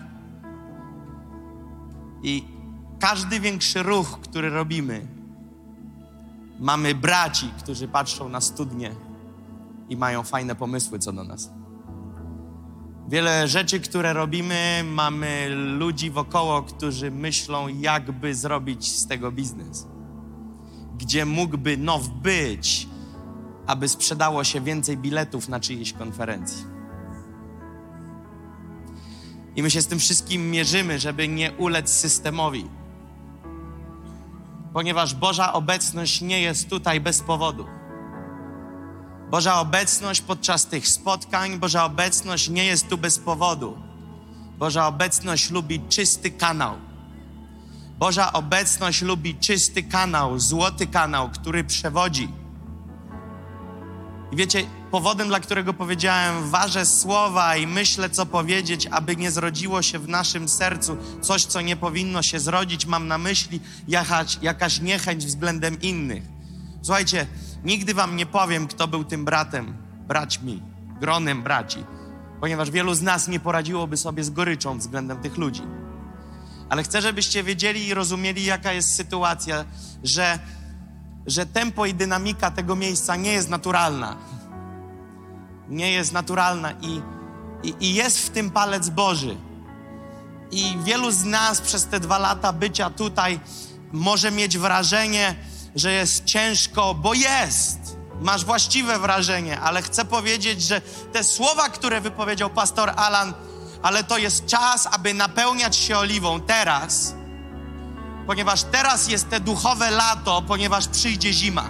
I każdy większy ruch, który robimy, mamy braci, którzy patrzą na studnię i mają fajne pomysły co do nas. Wiele rzeczy, które robimy, mamy ludzi wokoło, którzy myślą, jakby zrobić z tego biznes. Gdzie mógłby now być, aby sprzedało się więcej biletów na czyjejś konferencji. I my się z tym wszystkim mierzymy, żeby nie ulec systemowi. Ponieważ Boża obecność nie jest tutaj bez powodu. Boża obecność podczas tych spotkań, Boża obecność nie jest tu bez powodu. Boża obecność lubi czysty kanał. Boża obecność lubi czysty kanał, złoty kanał, który przewodzi. I wiecie, powodem, dla którego powiedziałem, ważę słowa i myślę, co powiedzieć, aby nie zrodziło się w naszym sercu coś, co nie powinno się zrodzić, mam na myśli jakaś niechęć względem innych. Słuchajcie, nigdy wam nie powiem, kto był tym braćmi, gronem braci, ponieważ wielu z nas nie poradziłoby sobie z goryczą względem tych ludzi. Ale chcę, żebyście wiedzieli i rozumieli, jaka jest sytuacja, że tempo i dynamika tego miejsca nie jest naturalna. Nie jest naturalna i jest w tym palec Boży. I wielu z nas przez te 2 lata bycia tutaj może mieć wrażenie, że jest ciężko, bo jest. Masz właściwe wrażenie, ale chcę powiedzieć, że te słowa, które wypowiedział pastor Alan, ale to jest czas, aby napełniać się oliwą teraz, ponieważ teraz jest te duchowe lato, ponieważ przyjdzie zima.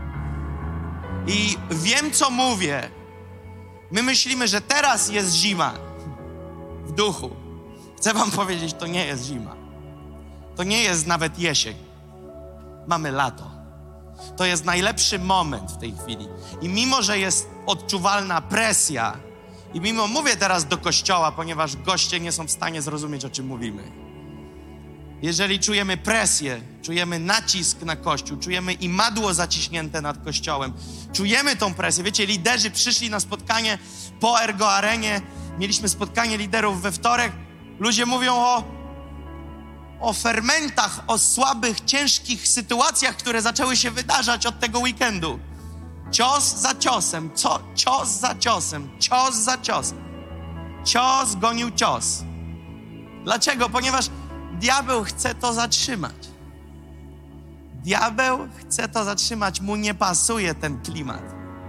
I wiem, co mówię. My myślimy, że teraz jest zima w duchu. Chcę wam powiedzieć, to nie jest zima. To nie jest nawet jesień. Mamy lato. To jest najlepszy moment w tej chwili. I mimo, że jest odczuwalna presja, i mimo, mówię teraz do kościoła, ponieważ goście nie są w stanie zrozumieć, o czym mówimy. Jeżeli czujemy presję, czujemy nacisk na Kościół, czujemy imadło zaciśnięte nad Kościołem, czujemy tą presję. Wiecie, liderzy przyszli na spotkanie po Ergo Arenie, mieliśmy spotkanie liderów we wtorek. Ludzie mówią o fermentach, o słabych, ciężkich sytuacjach, które zaczęły się wydarzać od tego weekendu. Cios za ciosem, cios za ciosem, cios za ciosem. Cios gonił cios. Dlaczego? Ponieważ diabeł chce to zatrzymać. Diabeł chce to zatrzymać, mu nie pasuje ten klimat.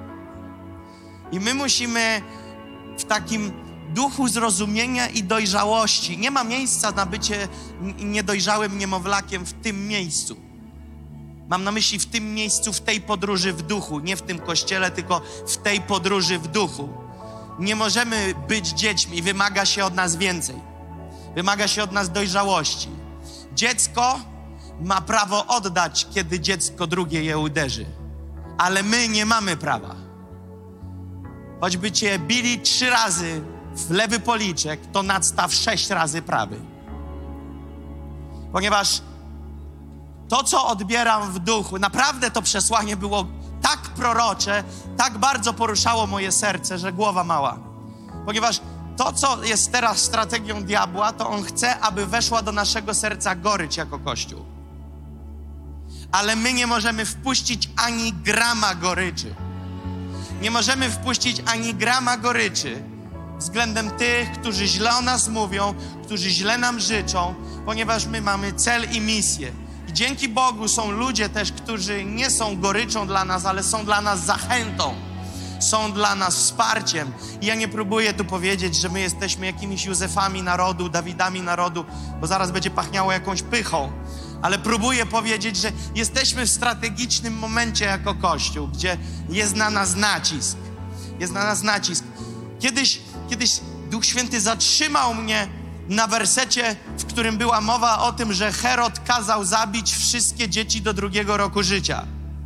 I my musimy w takim duchu zrozumienia i dojrzałości. Nie ma miejsca na bycie niedojrzałym niemowlakiem w tym miejscu. Mam na myśli w tym miejscu, w tej podróży w duchu. Nie w tym kościele, tylko w tej podróży w duchu. Nie możemy być dziećmi. Wymaga się od nas więcej. Wymaga się od nas dojrzałości. Dziecko ma prawo oddać, kiedy dziecko drugie je uderzy. Ale my nie mamy prawa. Choćby cię bili 3 razy w lewy policzek, to nadstaw 6 razy prawy. Ponieważ to, co odbieram w duchu, naprawdę to przesłanie było tak prorocze, tak bardzo poruszało moje serce, że głowa mała. Ponieważ to, co jest teraz strategią diabła, to on chce, aby weszła do naszego serca gorycz jako Kościół. Ale my nie możemy wpuścić ani grama goryczy. Nie możemy wpuścić ani grama goryczy względem tych, którzy źle o nas mówią, którzy źle nam życzą, ponieważ my mamy cel i misję. I dzięki Bogu są ludzie też, którzy nie są goryczą dla nas, ale są dla nas zachętą. Są dla nas wsparciem. I ja nie próbuję tu powiedzieć, że my jesteśmy jakimiś Józefami narodu, Dawidami narodu, bo zaraz będzie pachniało jakąś pychą. Ale próbuję powiedzieć, że jesteśmy w strategicznym momencie jako Kościół, gdzie jest na nas nacisk. Jest na nas nacisk. Kiedyś Duch Święty zatrzymał mnie na wersecie, w którym była mowa o tym, że Herod kazał zabić wszystkie dzieci do 2 roku życia.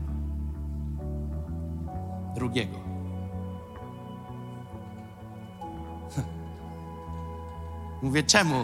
2. Mówię, czemu?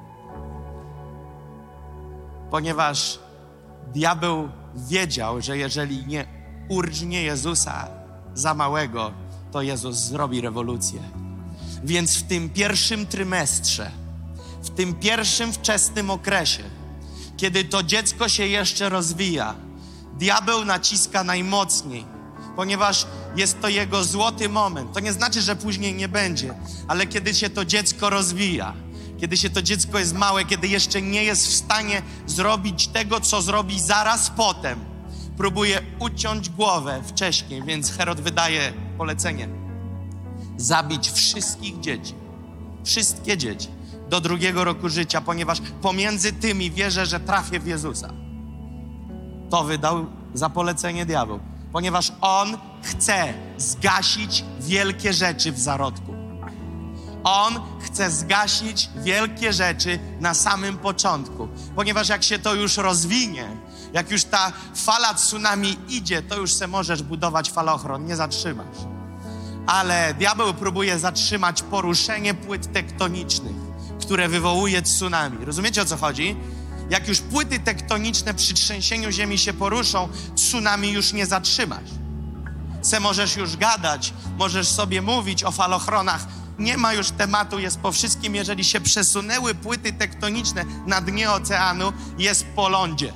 Ponieważ diabeł wiedział, że jeżeli nie urżnie Jezusa za małego, to Jezus zrobi rewolucję. Więc w tym pierwszym trymestrze, w tym pierwszym wczesnym okresie, kiedy to dziecko się jeszcze rozwija, diabeł naciska najmocniej, ponieważ jest to jego złoty moment. To nie znaczy, że później nie będzie, ale kiedy się to dziecko rozwija, kiedy się to dziecko jest małe, kiedy jeszcze nie jest w stanie zrobić tego, co zrobi zaraz potem, próbuje uciąć głowę wcześniej, więc Herod wydaje polecenie: zabić wszystkich dzieci, wszystkie dzieci do 2 roku życia, ponieważ pomiędzy tymi wierzę, że trafię w Jezusa. To wydał za polecenie diabeł, ponieważ on chce zgasić wielkie rzeczy w zarodku. On chce zgasić wielkie rzeczy na samym początku, ponieważ jak się to już rozwinie, jak już ta fala tsunami idzie, to już se możesz budować falochron, nie zatrzymasz. Ale diabeł próbuje zatrzymać poruszenie płyt tektonicznych, które wywołuje tsunami. Rozumiecie, o co chodzi? Jak już płyty tektoniczne przy trzęsieniu ziemi się poruszą, tsunami już nie zatrzymasz. Możesz już gadać, możesz sobie mówić o falochronach. Nie ma już tematu, jest po wszystkim. Jeżeli się przesunęły płyty tektoniczne na dnie oceanu, jest po lądzie.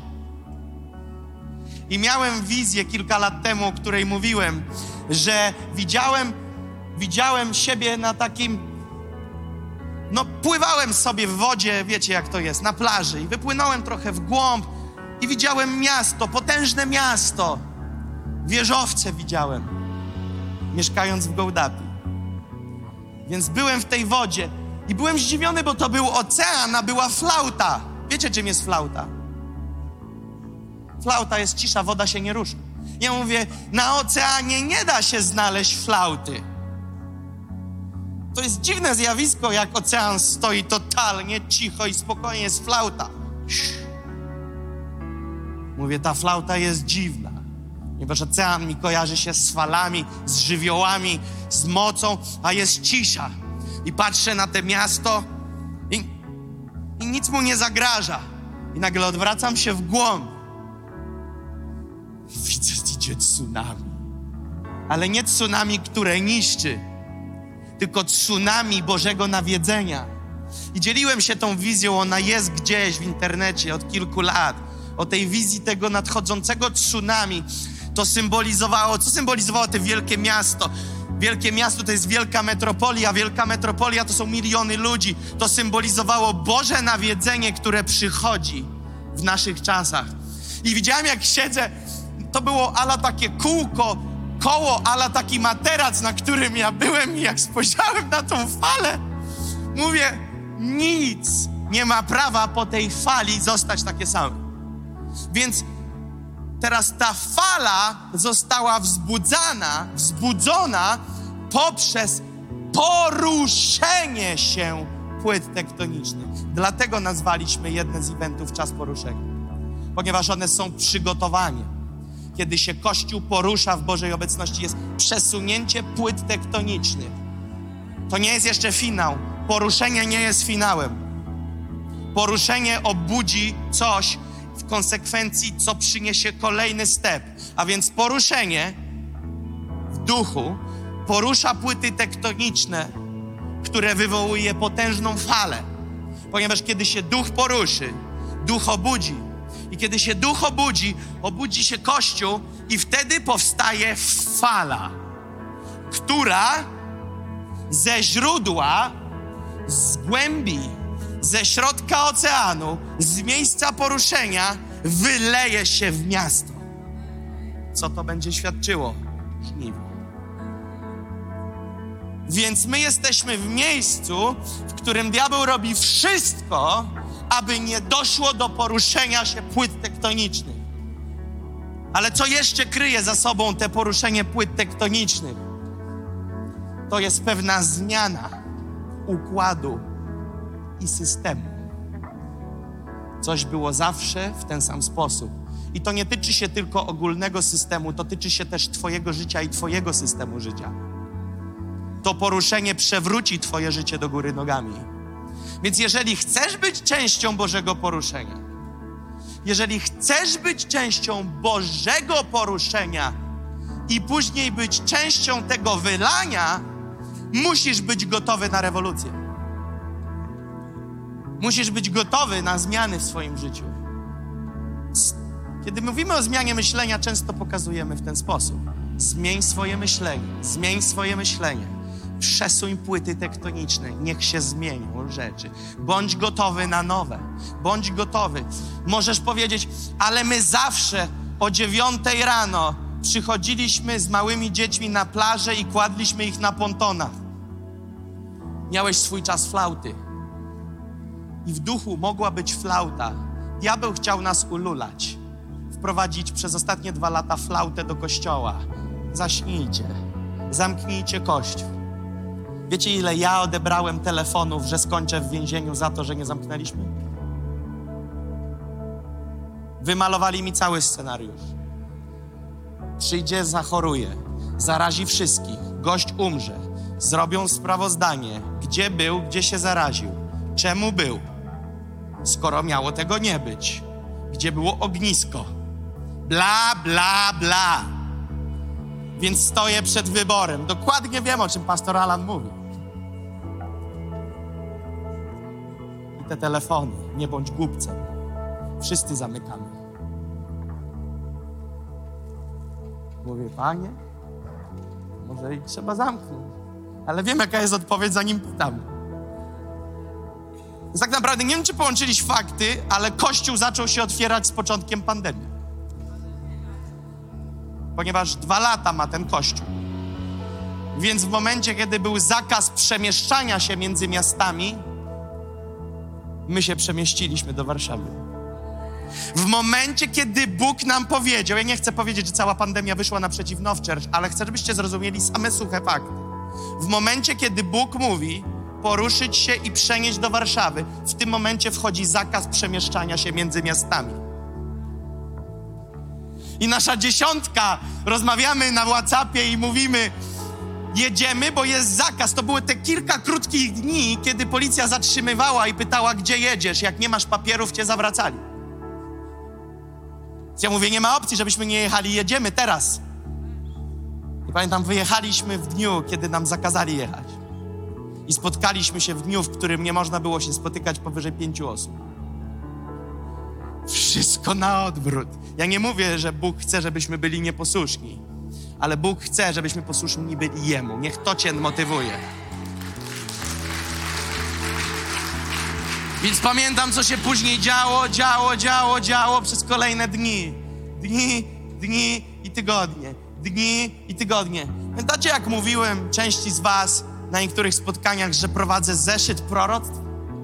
I miałem wizję kilka lat temu, o której mówiłem, że widziałem widziałem siebie na takim... No, pływałem sobie w wodzie, wiecie jak to jest, na plaży i wypłynąłem trochę w głąb i widziałem miasto, potężne miasto. Wieżowce widziałem, mieszkając w Gołdapi. Więc byłem w tej wodzie i byłem zdziwiony, bo to był ocean, a była flauta. Wiecie, czym jest flauta? Flauta jest cisza, woda się nie rusza. Ja mówię, na oceanie nie da się znaleźć flauty. To jest dziwne zjawisko, jak ocean stoi totalnie cicho i spokojnie, jest flauta. Mówię, ta flauta jest dziwna, ponieważ ocean mi kojarzy się z falami, z żywiołami, z mocą, a jest cisza. I patrzę na to miasto i nic mu nie zagraża. I nagle odwracam się w głąb. Widzę, idzie tsunami. Ale nie tsunami, które niszczy, tylko tsunami Bożego nawiedzenia. I dzieliłem się tą wizją, ona jest gdzieś w internecie od kilku lat. O tej wizji tego nadchodzącego tsunami. To symbolizowało, co symbolizowało to wielkie miasto? Wielkie miasto to jest wielka metropolia. Wielka metropolia to są miliony ludzi. To symbolizowało Boże nawiedzenie, które przychodzi w naszych czasach. I widziałem, jak siedzę, to było ala takie koło, ala taki materac, na którym ja byłem i jak spojrzałem na tą falę, mówię, nic nie ma prawa po tej fali zostać takie same. Więc teraz ta fala została wzbudzona poprzez poruszenie się płyt tektonicznych. Dlatego nazwaliśmy jedne z eventów Czas Poruszenia. Ponieważ one są przygotowaniem. Kiedy się Kościół porusza w Bożej obecności, jest przesunięcie płyt tektonicznych. To nie jest jeszcze finał. Poruszenie nie jest finałem. Poruszenie obudzi coś w konsekwencji, co przyniesie kolejny step. A więc poruszenie w duchu porusza płyty tektoniczne, które wywołuje potężną falę. Ponieważ kiedy się duch poruszy, duch obudzi. I kiedy się duch obudzi się Kościół i wtedy powstaje fala, która ze źródła, z głębi, ze środka oceanu, z miejsca poruszenia wyleje się w miasto. Co to będzie świadczyło? Żniwo. Więc my jesteśmy w miejscu, w którym diabeł robi wszystko, aby nie doszło do poruszenia się płyt tektonicznych. Ale co jeszcze kryje za sobą te poruszenie płyt tektonicznych? To jest pewna zmiana układu i systemu. Coś było zawsze w ten sam sposób. I to nie tyczy się tylko ogólnego systemu, to tyczy się też twojego życia i twojego systemu życia. To poruszenie przewróci twoje życie do góry nogami. Więc jeżeli chcesz być częścią Bożego poruszenia, jeżeli chcesz być częścią Bożego poruszenia i później być częścią tego wylania, musisz być gotowy na rewolucję. Musisz być gotowy na zmiany w swoim życiu. Kiedy mówimy o zmianie myślenia, często pokazujemy w ten sposób. Zmień swoje myślenie, zmień swoje myślenie. Przesuń płyty tektoniczne, niech się zmienią rzeczy. Bądź gotowy na nowe. Bądź gotowy. Możesz powiedzieć, ale my zawsze o 9 rano przychodziliśmy z małymi dziećmi na plażę i kładliśmy ich na pontonach. Miałeś swój czas flauty. I w duchu mogła być flauta. Diabeł chciał nas ululać. Wprowadzić przez ostatnie 2 lata flautę do kościoła. Zaśnijcie. Zamknijcie kościół. Wiecie, ile ja odebrałem telefonów, że skończę w więzieniu za to, że nie zamknęliśmy? Wymalowali mi cały scenariusz. Przyjdzie, zachoruje, zarazi wszystkich, gość umrze, zrobią sprawozdanie, gdzie był, gdzie się zaraził, czemu był, skoro miało tego nie być, gdzie było ognisko, bla, bla, bla. Więc stoję przed wyborem. Dokładnie wiem, o czym pastor Alan mówi. I te telefony, nie bądź głupcem. Wszyscy zamykamy. Mówię, Panie, może i trzeba zamknąć. Ale wiem, jaka jest odpowiedź, zanim pytam. Więc tak naprawdę nie wiem, czy połączyliś fakty, ale Kościół zaczął się otwierać z początkiem pandemii. Ponieważ 2 lata ma ten Kościół. Więc w momencie, kiedy był zakaz przemieszczania się między miastami, my się przemieściliśmy do Warszawy. W momencie, kiedy Bóg nam powiedział, ja nie chcę powiedzieć, że cała pandemia wyszła naprzeciw Now Church, ale chcę, żebyście zrozumieli same suche fakty. W momencie, kiedy Bóg mówi poruszyć się i przenieść do Warszawy, w tym momencie wchodzi zakaz przemieszczania się między miastami. I nasza 10, rozmawiamy na WhatsAppie i mówimy, jedziemy, bo jest zakaz. To były te kilka krótkich dni, kiedy policja zatrzymywała i pytała, gdzie jedziesz. Jak nie masz papierów, cię zawracali. Ja mówię, nie ma opcji, żebyśmy nie jechali, jedziemy teraz. I pamiętam, wyjechaliśmy w dniu, kiedy nam zakazali jechać. I spotkaliśmy się w dniu, w którym nie można było się spotykać powyżej 5 osób. Wszystko na odwrót. Ja nie mówię, że Bóg chce, żebyśmy byli nieposłuszni, ale Bóg chce, żebyśmy posłuszni byli Jemu. Niech to cię motywuje. Więc pamiętam, co się później działo przez kolejne dni. Dni i tygodnie. Dni i tygodnie. Pamiętacie, jak mówiłem części z was na niektórych spotkaniach, że prowadzę zeszyt proroctw?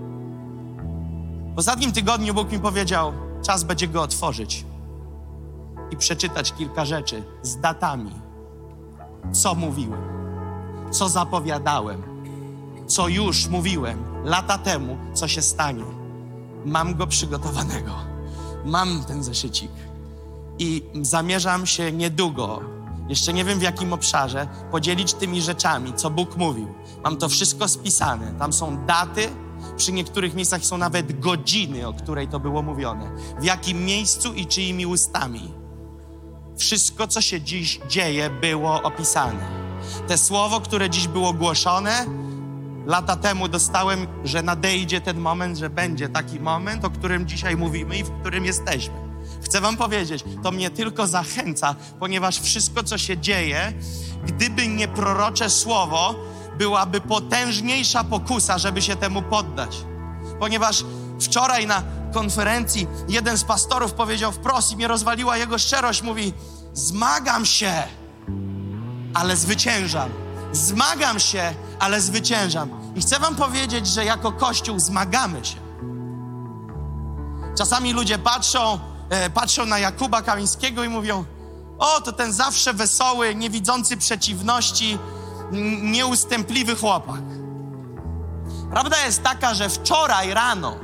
W ostatnim tygodniu Bóg mi powiedział, czas będzie go otworzyć i przeczytać kilka rzeczy z datami. Co mówiłem, co zapowiadałem, co już mówiłem lata temu, co się stanie. Mam go przygotowanego. Mam ten zeszycik i zamierzam się niedługo, jeszcze nie wiem w jakim obszarze, podzielić tymi rzeczami, co Bóg mówił. Mam to wszystko spisane. Tam są daty, przy niektórych miejscach są nawet godziny, o której to było mówione. W jakim miejscu i czyimi ustami. Wszystko, co się dziś dzieje, było opisane. Te słowo, które dziś było głoszone, lata temu dostałem, że nadejdzie ten moment, że będzie taki moment, o którym dzisiaj mówimy i w którym jesteśmy. Chcę wam powiedzieć, to mnie tylko zachęca, ponieważ wszystko, co się dzieje, gdyby nie prorocze słowo, byłaby potężniejsza pokusa, żeby się temu poddać. Ponieważ wczoraj na konferencji jeden z pastorów powiedział wprost i mnie rozwaliła jego szczerość, mówi, zmagam się, ale zwyciężam. Zmagam się, ale zwyciężam. I chcę wam powiedzieć, że jako Kościół zmagamy się. Czasami ludzie patrzą na Jakuba Kamińskiego i mówią, o, to ten zawsze wesoły, niewidzący przeciwności, nieustępliwy chłopak. Prawda jest taka, że wczoraj rano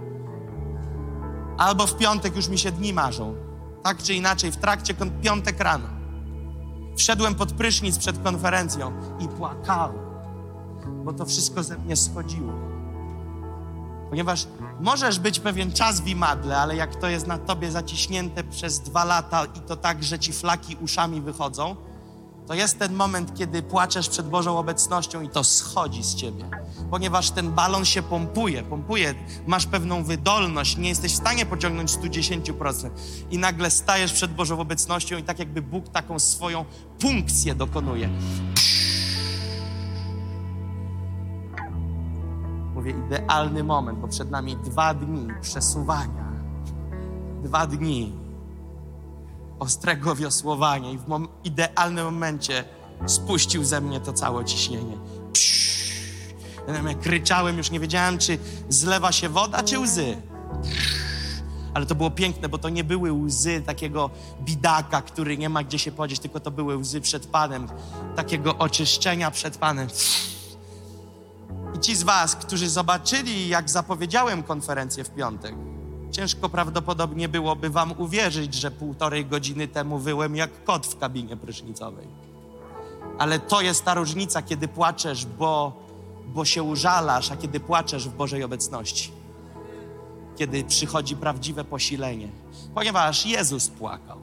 albo w piątek, już mi się dni marzą, tak czy inaczej, w trakcie piątek rano wszedłem pod prysznic przed konferencją i płakałem, bo to wszystko ze mnie schodziło. Ponieważ możesz być pewien czas w imadle, ale jak to jest na tobie zaciśnięte przez 2 lata i to tak, że ci flaki uszami wychodzą, to jest ten moment, kiedy płaczesz przed Bożą obecnością i to schodzi z ciebie. Ponieważ ten balon się pompuje, masz pewną wydolność, nie jesteś w stanie pociągnąć 110%. I nagle stajesz przed Bożą obecnością i tak jakby Bóg taką swoją punkcję dokonuje. Mówię, idealny moment, bo przed nami 2 dni przesuwania. 2 dni ostrego wiosłowania i w idealnym momencie spuścił ze mnie to całe ciśnienie. Ja kryczałem, już nie wiedziałem, czy zlewa się woda, czy łzy. Ale to było piękne, bo to nie były łzy takiego bidaka, który nie ma gdzie się podzieć, tylko to były łzy przed Panem, takiego oczyszczenia przed Panem. I ci z was, którzy zobaczyli, jak zapowiedziałem konferencję w piątek, ciężko prawdopodobnie byłoby wam uwierzyć, że 1,5 godziny temu wyłem jak kot w kabinie prysznicowej. Ale to jest ta różnica, kiedy płaczesz, bo się użalasz, a kiedy płaczesz w Bożej obecności. Kiedy przychodzi prawdziwe posilenie. Ponieważ Jezus płakał.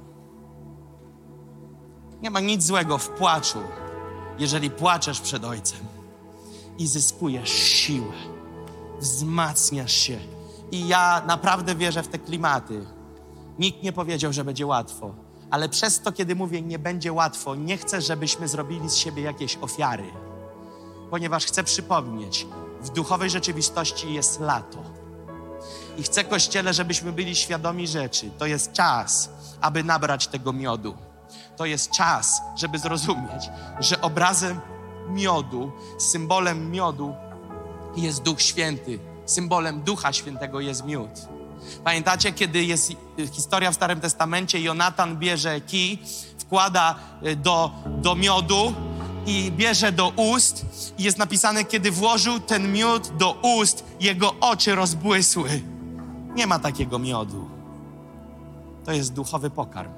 Nie ma nic złego w płaczu, jeżeli płaczesz przed Ojcem i zyskujesz siłę, wzmacniasz się. I ja naprawdę wierzę w te klimaty. Nikt nie powiedział, że będzie łatwo, ale przez to, kiedy mówię, nie będzie łatwo, nie chcę, żebyśmy zrobili z siebie jakieś ofiary. ponieważ chcę przypomnieć, w duchowej rzeczywistości jest lato. I chcę, Kościele, żebyśmy byli świadomi rzeczy. To jest czas, aby nabrać tego miodu. To jest czas, żeby zrozumieć, że obrazem miodu, symbolem miodu jest Duch Święty. Symbolem Ducha Świętego jest miód. Pamiętacie, kiedy jest historia w Starym Testamencie, Jonatan bierze kij, wkłada do miodu i bierze do ust i jest napisane, kiedy włożył ten miód do ust, jego oczy rozbłysły. Nie ma takiego miodu. To jest duchowy pokarm,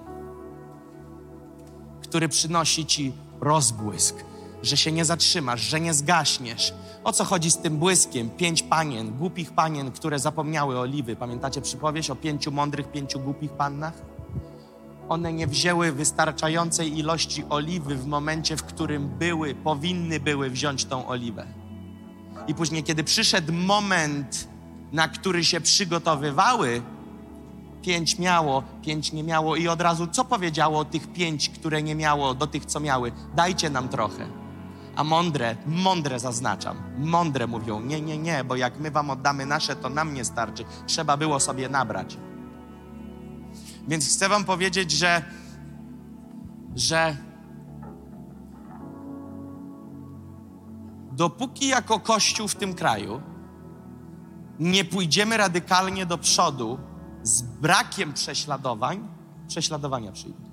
który przynosi ci rozbłysk, że się nie zatrzymasz, że nie zgaśniesz. O co chodzi z tym błyskiem? 5 panien, głupich panien, które zapomniały oliwy. Pamiętacie przypowieść o 5 mądrych, 5 głupich pannach? One nie wzięły wystarczającej ilości oliwy w momencie, w którym powinny były wziąć tą oliwę. I później, kiedy przyszedł moment, na który się przygotowywały, 5 miało, 5 nie miało i od razu co powiedziało tych 5, które nie miało, do tych, co miały? Dajcie nam trochę. A mądre zaznaczam, mądre mówią, nie, bo jak my wam oddamy nasze, to nam nie starczy. Trzeba było sobie nabrać. Więc chcę wam powiedzieć, że dopóki jako Kościół w tym kraju nie pójdziemy radykalnie do przodu z brakiem prześladowania przyjdą.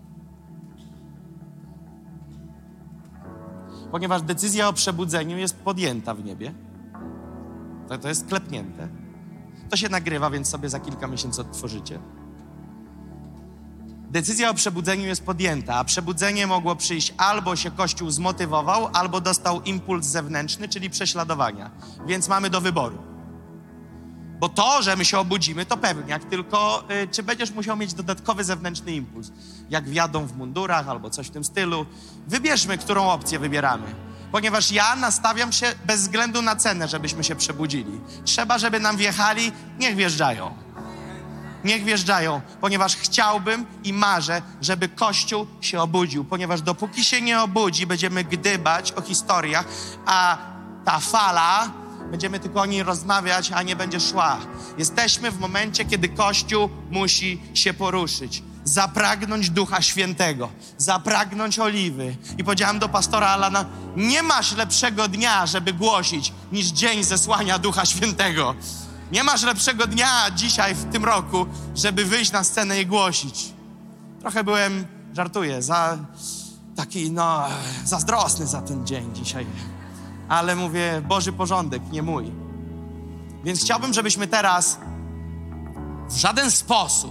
Ponieważ decyzja o przebudzeniu jest podjęta w niebie. To jest klepnięte. To się nagrywa, więc sobie za kilka miesięcy odtworzycie. Decyzja o przebudzeniu jest podjęta, a przebudzenie mogło przyjść albo się Kościół zmotywował, albo dostał impuls zewnętrzny, czyli prześladowania. Więc mamy do wyboru. Bo to, że my się obudzimy, to pewniak, tylko czy będziesz musiał mieć dodatkowy zewnętrzny impuls, jak wjadą w mundurach albo coś w tym stylu. Wybierzmy, którą opcję wybieramy. Ponieważ ja nastawiam się bez względu na cenę, żebyśmy się przebudzili. Trzeba, żeby nam wjechali, niech wjeżdżają. Niech wjeżdżają, ponieważ chciałbym i marzę, żeby Kościół się obudził. Ponieważ dopóki się nie obudzi, będziemy gdybać o historiach, a ta fala, będziemy tylko o niej rozmawiać, a nie będzie szła. Jesteśmy w momencie, kiedy Kościół musi się poruszyć. Zapragnąć Ducha Świętego, zapragnąć oliwy. I powiedziałem do pastora Alana, nie masz lepszego dnia, żeby głosić, niż dzień zesłania Ducha Świętego. Nie masz lepszego dnia dzisiaj w tym roku, żeby wyjść na scenę i głosić. Trochę żartuję, taki zazdrosny za ten dzień dzisiaj. Ale mówię, Boży porządek, nie mój. Więc chciałbym, żebyśmy teraz w żaden sposób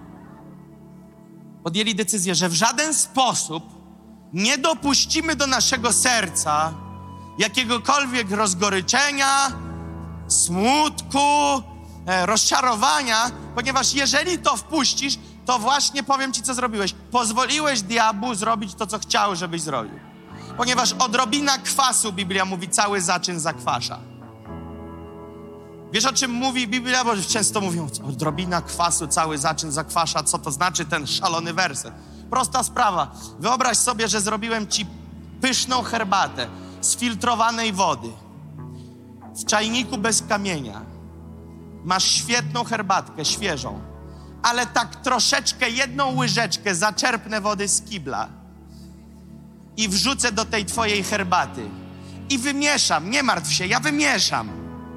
podjęli decyzję, że w żaden sposób nie dopuścimy do naszego serca jakiegokolwiek rozgoryczenia, smutku, rozczarowania, ponieważ jeżeli to wpuścisz, to właśnie powiem ci, co zrobiłeś. Pozwoliłeś diabłu zrobić to, co chciał, żebyś zrobił. Ponieważ odrobina kwasu, Biblia mówi, cały zaczyn zakwasza. Wiesz, o czym mówi Biblia? Bo często mówią, odrobina kwasu, cały zaczyn zakwasza. Co to znaczy ten szalony werset? Prosta sprawa. Wyobraź sobie, że zrobiłem ci pyszną herbatę z filtrowanej wody. W czajniku bez kamienia. Masz świetną herbatkę, świeżą. Ale tak troszeczkę, jedną łyżeczkę zaczerpnę wody z kibla i wrzucę do tej twojej herbaty. I wymieszam, nie martw się, ja wymieszam.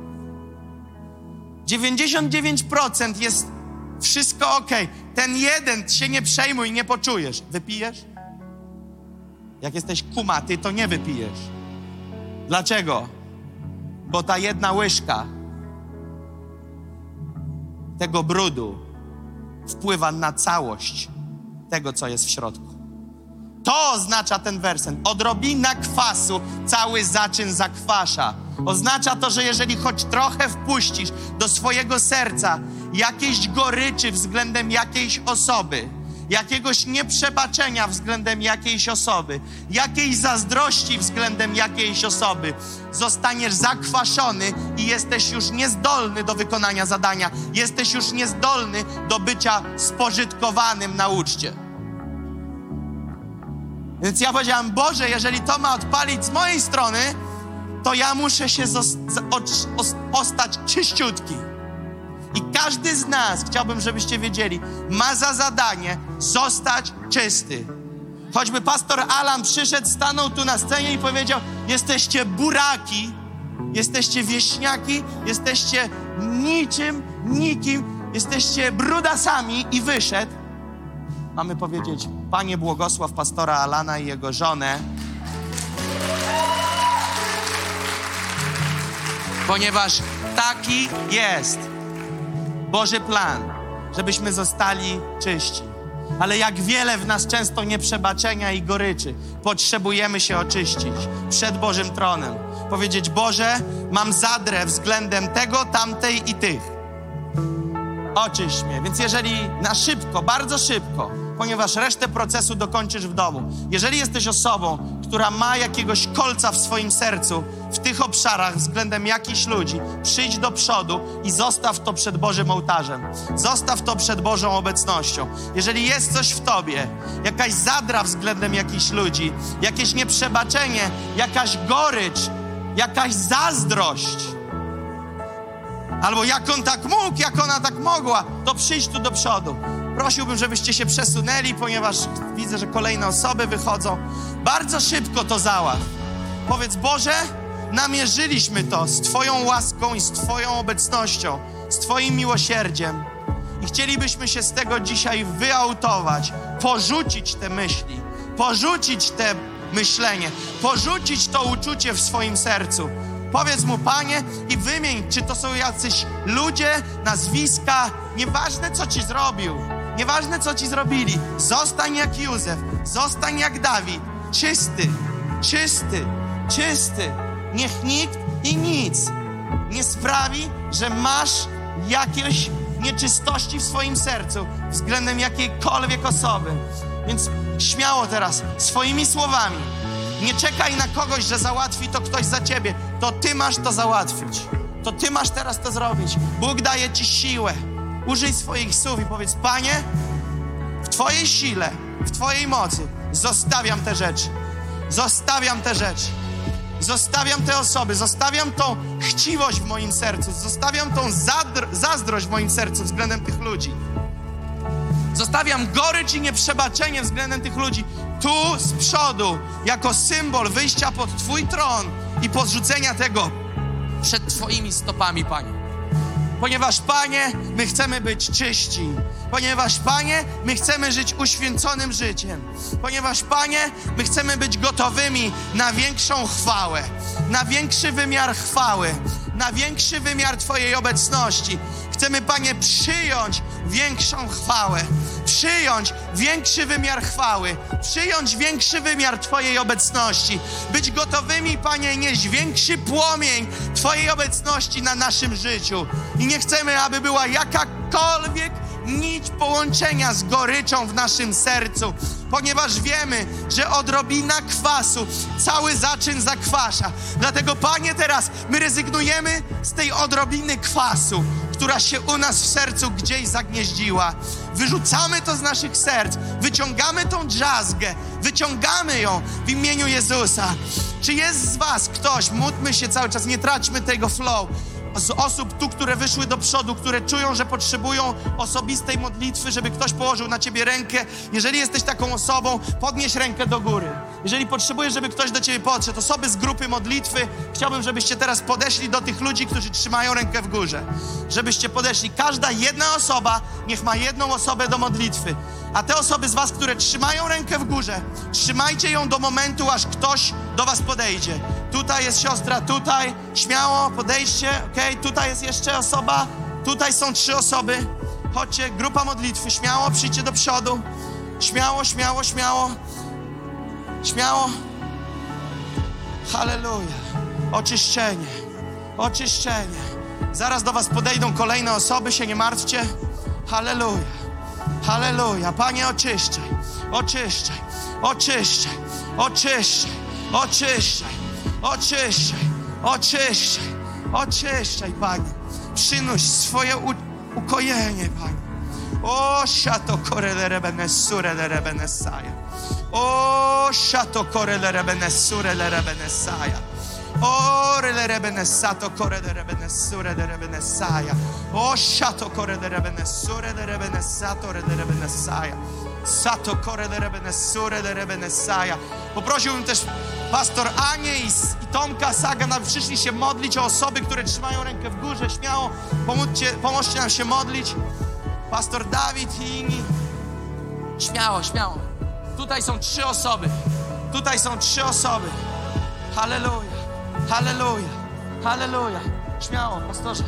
99% jest wszystko okej. Ten jeden się nie przejmuj, nie poczujesz. Wypijesz? Jak jesteś kumaty, to nie wypijesz. Dlaczego? Bo ta jedna łyżka tego brudu wpływa na całość tego, co jest w środku. To oznacza ten werset. Odrobina kwasu cały zaczyn zakwasza. Oznacza to, że jeżeli choć trochę wpuścisz do swojego serca jakiejś goryczy względem jakiejś osoby, jakiegoś nieprzebaczenia względem jakiejś osoby, jakiejś zazdrości względem jakiejś osoby, zostaniesz zakwaszony i jesteś już niezdolny do wykonania zadania. Jesteś już niezdolny do bycia spożytkowanym na uczcie. Więc ja powiedziałem, Boże, jeżeli to ma odpalić z mojej strony, to ja muszę się ostać czyściutki. I każdy z nas, chciałbym, żebyście wiedzieli, ma za zadanie zostać czysty. Choćby pastor Alan przyszedł, stanął tu na scenie i powiedział: jesteście buraki, jesteście wieśniaki, jesteście nikim, jesteście brudasami, i wyszedł. Mamy powiedzieć: Panie, błogosław pastora Alana i jego żonę, ponieważ taki jest Boży plan, żebyśmy zostali czyści. Ale jak wiele w nas często nieprzebaczenia i goryczy. Potrzebujemy się oczyścić przed Bożym tronem. Powiedzieć: Boże, mam zadrę względem tego, tamtej i tych. Oczyść mnie. Więc jeżeli na szybko, bardzo szybko, ponieważ resztę procesu dokończysz w domu. Jeżeli jesteś osobą, która ma jakiegoś kolca w swoim sercu w tych obszarach względem jakichś ludzi, przyjdź do przodu i zostaw to przed Bożym ołtarzem. Zostaw to przed Bożą obecnością. Jeżeli jest coś w tobie, jakaś zadra względem jakichś ludzi, jakieś nieprzebaczenie, jakaś gorycz, jakaś zazdrość, albo jak on tak mógł, jak ona tak mogła, to przyjdź tu do przodu. Prosiłbym, żebyście się przesunęli, ponieważ widzę, że kolejne osoby wychodzą. Bardzo szybko to załatw. Powiedz: Boże, namierzyliśmy to z Twoją łaską i z Twoją obecnością, z Twoim miłosierdziem. I chcielibyśmy się z tego dzisiaj wyautować, porzucić te myśli, porzucić te myślenie, porzucić to uczucie w swoim sercu. Powiedz mu: Panie, i wymień, czy to są jacyś ludzie, nazwiska, nieważne co ci zrobił, nieważne co ci zrobili. Zostań jak Józef, zostań jak Dawid, czysty, czysty, czysty. Niech nikt i nic nie sprawi, że masz jakieś nieczystości w swoim sercu względem jakiejkolwiek osoby. Więc śmiało teraz, swoimi słowami, nie czekaj na kogoś, że załatwi to ktoś za ciebie. To ty masz to załatwić. To ty masz teraz to zrobić. Bóg daje ci siłę. Użyj swoich słów i powiedz: Panie, w Twojej sile, w Twojej mocy zostawiam te rzeczy. Zostawiam te rzeczy. Zostawiam te osoby. Zostawiam tą chciwość w moim sercu. Zostawiam tą zazdrość w moim sercu względem tych ludzi. Zostawiam gorycz i nieprzebaczenie względem tych ludzi. Tu z przodu, jako symbol wyjścia pod Twój tron i podrzucenia tego przed Twoimi stopami, Panie. Ponieważ, Panie, my chcemy być czyści. Ponieważ, Panie, my chcemy żyć uświęconym życiem. Ponieważ, Panie, my chcemy być gotowymi na większą chwałę, na większy wymiar chwały, na większy wymiar Twojej obecności. Chcemy, Panie, przyjąć większą chwałę, przyjąć większy wymiar chwały, przyjąć większy wymiar Twojej obecności. Być gotowymi, Panie, nieść większy płomień Twojej obecności na naszym życiu. I nie chcemy, aby była jakakolwiek nić połączenia z goryczą w naszym sercu, ponieważ wiemy, że odrobina kwasu cały zaczyn zakwasza. Dlatego, Panie, teraz my rezygnujemy z tej odrobiny kwasu, która się u nas w sercu gdzieś zagnieździła. Wyrzucamy to z naszych serc, wyciągamy tą drzazgę, wyciągamy ją w imieniu Jezusa. Czy jest z was ktoś, módlmy się cały czas, nie traćmy tego flow, z osób tu, które wyszły do przodu, które czują, że potrzebują osobistej modlitwy, żeby ktoś położył na ciebie rękę. Jeżeli jesteś taką osobą, podnieś rękę do góry. Jeżeli potrzebujesz, żeby ktoś do ciebie podszedł, osoby z grupy modlitwy, chciałbym, żebyście teraz podeszli do tych ludzi, którzy trzymają rękę w górze. Żebyście podeszli. Każda jedna osoba niech ma jedną osobę do modlitwy. A te osoby z was, które trzymają rękę w górze, trzymajcie ją do momentu, aż ktoś do was podejdzie. Tutaj jest siostra, tutaj, śmiało, podejdźcie, okej, tutaj jest jeszcze osoba, tutaj są 3 osoby. Chodźcie, grupa modlitwy, śmiało, przyjdźcie do przodu. Śmiało, śmiało, śmiało. Śmiało. Halleluja. Oczyszczenie, oczyszczenie. Zaraz do was podejdą kolejne osoby, się nie martwcie. Halleluja. Halleluja. Panie, oczyszczaj, oczyszczaj, oczyszczaj, oczyszczaj, oczyszczaj, oczyszczaj, oczyszczaj, oczyszczaj, Panie. Przynoś swoje ukojenie, Panie. O, szato korele benesure le benesaja. O, szato korele benesure le benesaja. Ore le rebenesato corre de rebenesure de rebenesaia. O shato corre de rebenesure de rebenesato de rebenesaia. Sato corre de rebenesure de rebenesaia. Poprosiłbym też pastor Anię i Tomka Sagana, przyszli się modlić o osoby, które trzymają rękę w górze. Śmiało pomóżcie nam się modlić. Pastor Dawid i inni. Śmiało, śmiało. Tutaj są 3 osoby. Tutaj są 3 osoby. Halleluja, halleluja, halleluja. Śmiało, pastorze.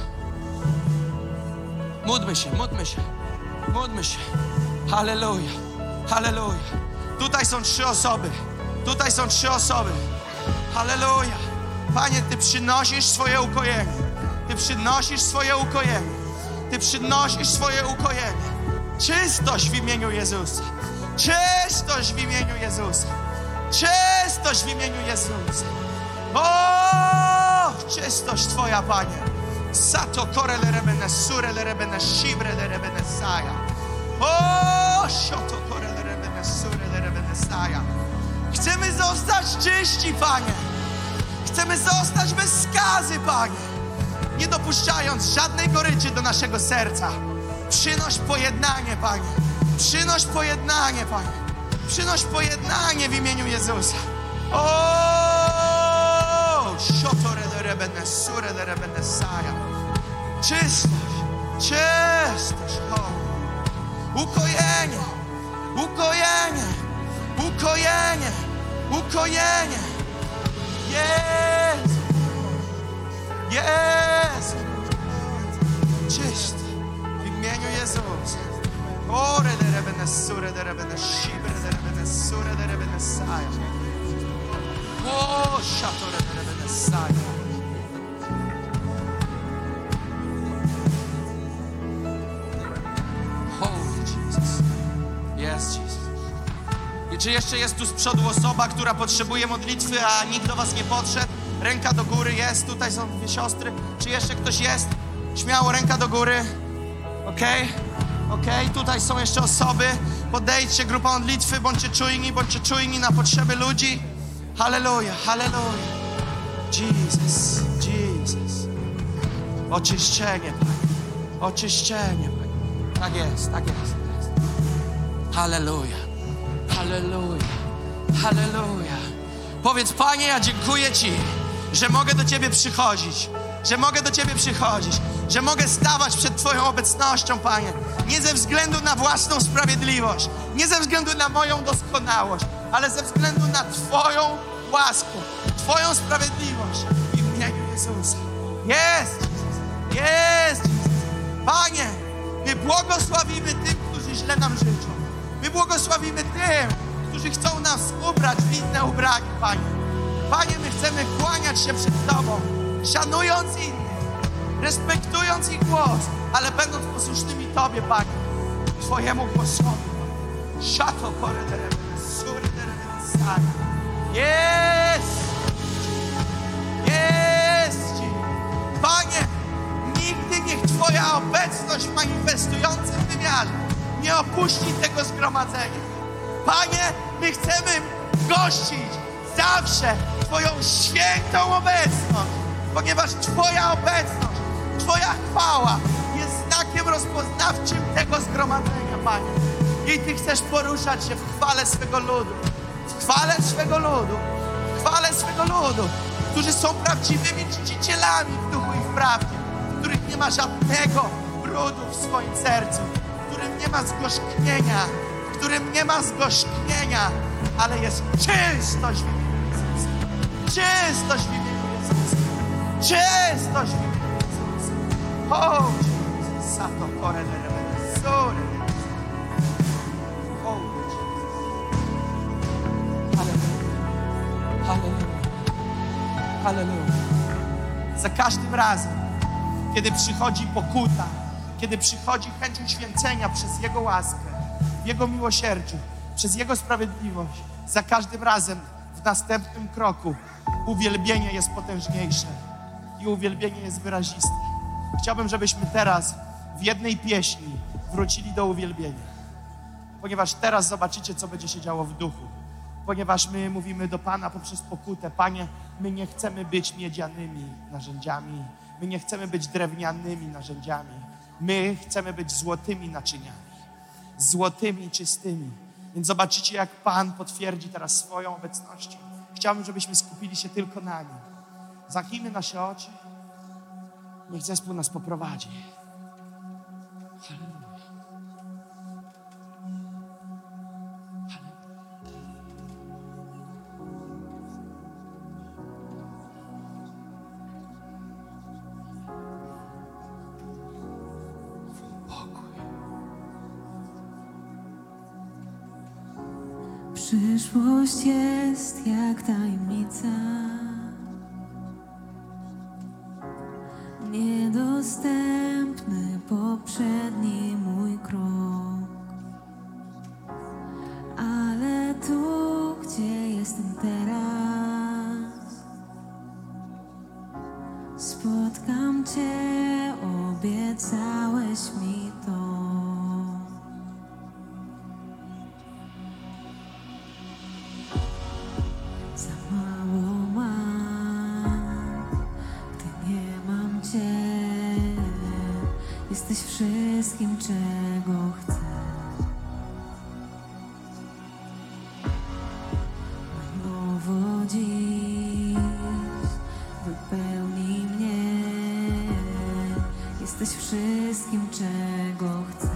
Módlmy się, módlmy się, módlmy się. Halleluja, halleluja. Tutaj są 3 osoby. Tutaj są 3 osoby. Halleluja. Panie, Ty przynosisz swoje ukojenie. Ty przynosisz swoje ukojenie. Ty przynosisz swoje ukojenie. Czystość w imieniu Jezusa. Czystość w imieniu Jezusa. Czystość w imieniu Jezusa. O, czystość Twoja, Panie. Sato kore le rebene sure le rebene shibre le rebene saja. O, shoto kore le rebene sure le rebene saja. Chcemy zostać czyści, Panie. Chcemy zostać bez skazy, Panie. Nie dopuszczając żadnej goryczy do naszego serca. Przynoś pojednanie, Panie. Przynoś pojednanie, Panie. Przynoś pojednanie w imieniu Jezusa. O, szotore de rebene, sure de rebene saja. Czystość, czystość, o. Ukojenie, ukojenie, ukojenie, ukojenie. Jezu, Jezu. Czysty w imieniu Jezusa. Ore de rebene, sure de rebene, shibre de rebene, sure de rebene saja. O, szatore de rebene saja. Holy Jesus. Yes, Jesus. I czy jeszcze jest tu z przodu osoba, która potrzebuje modlitwy, a nikt do was nie podszedł? Ręka do góry jest. Tutaj są 2 siostry. Czy jeszcze ktoś jest? Śmiało, ręka do góry. Okej? Okej, tutaj są jeszcze osoby. Podejdźcie, grupa modlitwy, bądźcie czujni na potrzeby ludzi. Halleluja, halleluja. Jesus, Jesus. Oczyszczenie, Panie. Oczyszczenie, Panie. Tak jest, tak jest, tak jest. Halleluja, halleluja, halleluja. Powiedz, Panie, ja dziękuję Ci, że mogę do Ciebie przychodzić. Że mogę do Ciebie przychodzić. Że mogę stawać przed Twoją obecnością, Panie. Nie ze względu na własną sprawiedliwość. Nie ze względu na moją doskonałość. Ale ze względu na Twoją łaskę. Twoją sprawiedliwość. W imieniu Jezusa. Jest! Jest! Panie, my błogosławimy tym, którzy źle nam życzą. My błogosławimy tym, którzy chcą nas ubrać w inne ubranie, Panie. Panie, my chcemy kłaniać się przed Tobą, szanując innych, respektując ich głos, ale będąc posłusznymi Tobie, Panie, Twojemu głosowi. Szato kore de rebene, sure de rebene saja. Jest! Jest! Panie, nigdy niech Twoja obecność w manifestującym wymiarze nie opuści tego zgromadzenia. Panie, my chcemy gościć zawsze Twoją świętą obecność, ponieważ Twoja obecność, Twoja chwała jest znakiem rozpoznawczym tego zgromadzenia, Panie. I Ty chcesz poruszać się w chwale swego ludu, w chwale swego ludu, w chwale swego ludu, którzy są prawdziwymi czcicielami w duchu i w prawdzie, w których nie ma żadnego brudu w swoim sercu, w którym nie ma zgorzknienia, w którym nie ma zgorzknienia, ale jest czystość w imieniu Jezusa. Czystość w imieniu Jezusa. Czystość w imieniu Jezusa. O, Jezus, sato kore de rebene, sure. O, Jezus. Halleluja. Halleluja. Halleluja. Za każdym razem, kiedy przychodzi pokuta, kiedy przychodzi chęć uświęcenia przez Jego łaskę, w Jego miłosierdziu, przez Jego sprawiedliwość, za każdym razem w następnym kroku uwielbienie jest potężniejsze i uwielbienie jest wyraziste. Chciałbym, żebyśmy teraz w jednej pieśni wrócili do uwielbienia, ponieważ teraz zobaczycie, co będzie się działo w duchu. ponieważ my mówimy do Pana poprzez pokutę. Panie, my nie chcemy być miedzianymi narzędziami, my nie chcemy być drewnianymi narzędziami, my chcemy być złotymi naczyniami, złotymi, czystymi. Więc zobaczycie, jak Pan potwierdzi teraz swoją obecnością. Chciałbym, żebyśmy skupili się tylko na Nim. Zamknijmy nasze oczy. Niech zespół nas poprowadzi. Halleluja. Przyszłość jest jak tajemnica, niedostępny poprzedni mój krok. Ale tu, gdzie jestem teraz, spotkam Cię, obiecałeś mi to. Za mało mam, gdy nie mam Cię. Jesteś wszystkim, czego chcę. Na nowo dziś wypełnij mnie. Jesteś wszystkim, czego chcę.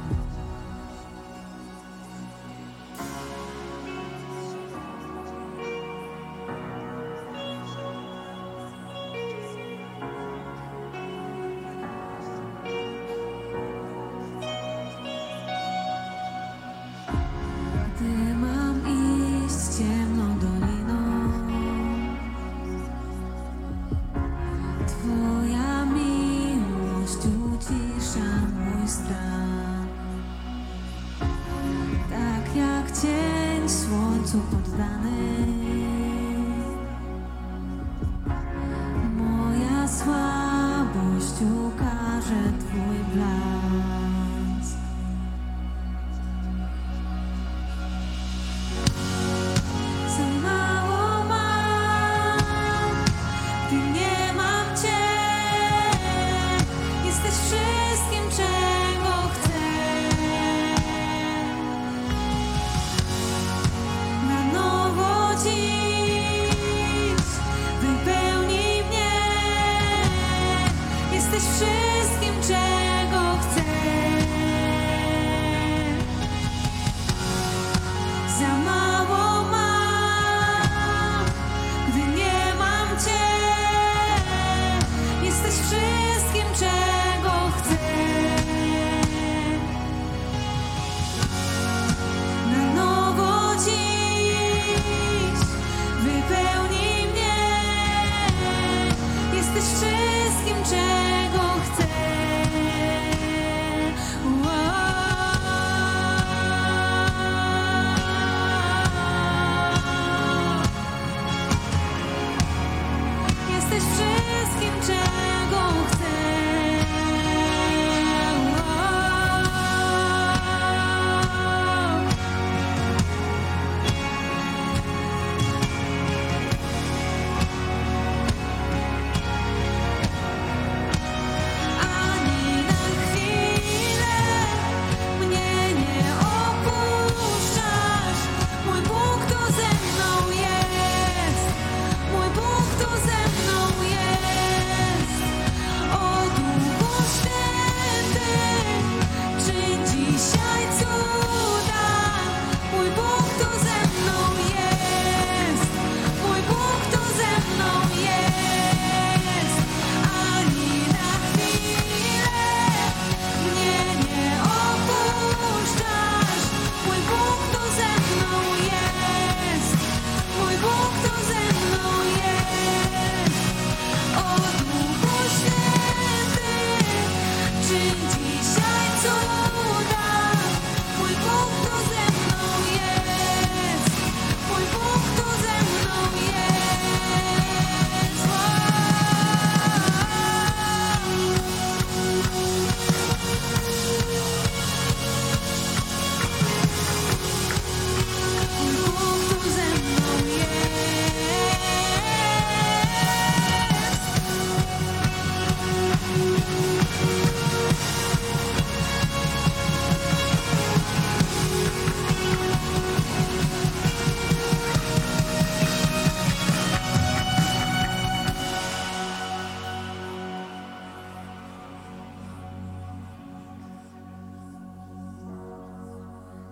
Gdy mam iść ciemną doliną, Twoja miłość ucisza mój strach. Tak jak cień słońcu poddany, moja słabość ukaże Twój blask. Za mało mam, gdy nie mam Cię. Jesteś wszystkim, czego chcę. Na nowo dziś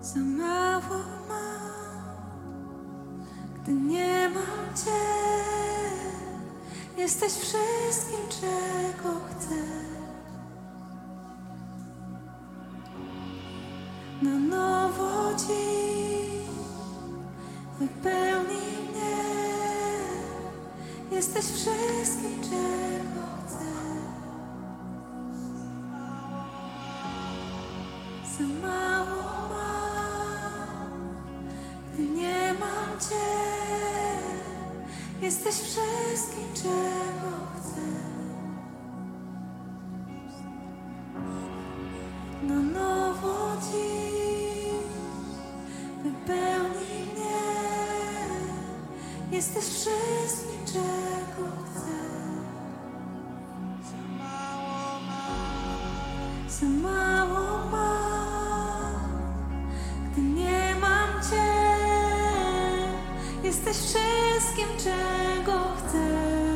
Za mało mam, gdy nie mam Cię. Jesteś wszystkim, czego chcę. Na nowo dziś wypełnij mnie. Jesteś wszystkim, czego chcę. Za mało mam, gdy nie mam Cię. Jesteś wszystkim, czego chcę. Na nowo dziś wypełnij mnie. Jesteś wszystkim, czego chcę. Za mało mam, gdy nie mam Cię. Jesteś wszystkim, czego chcę.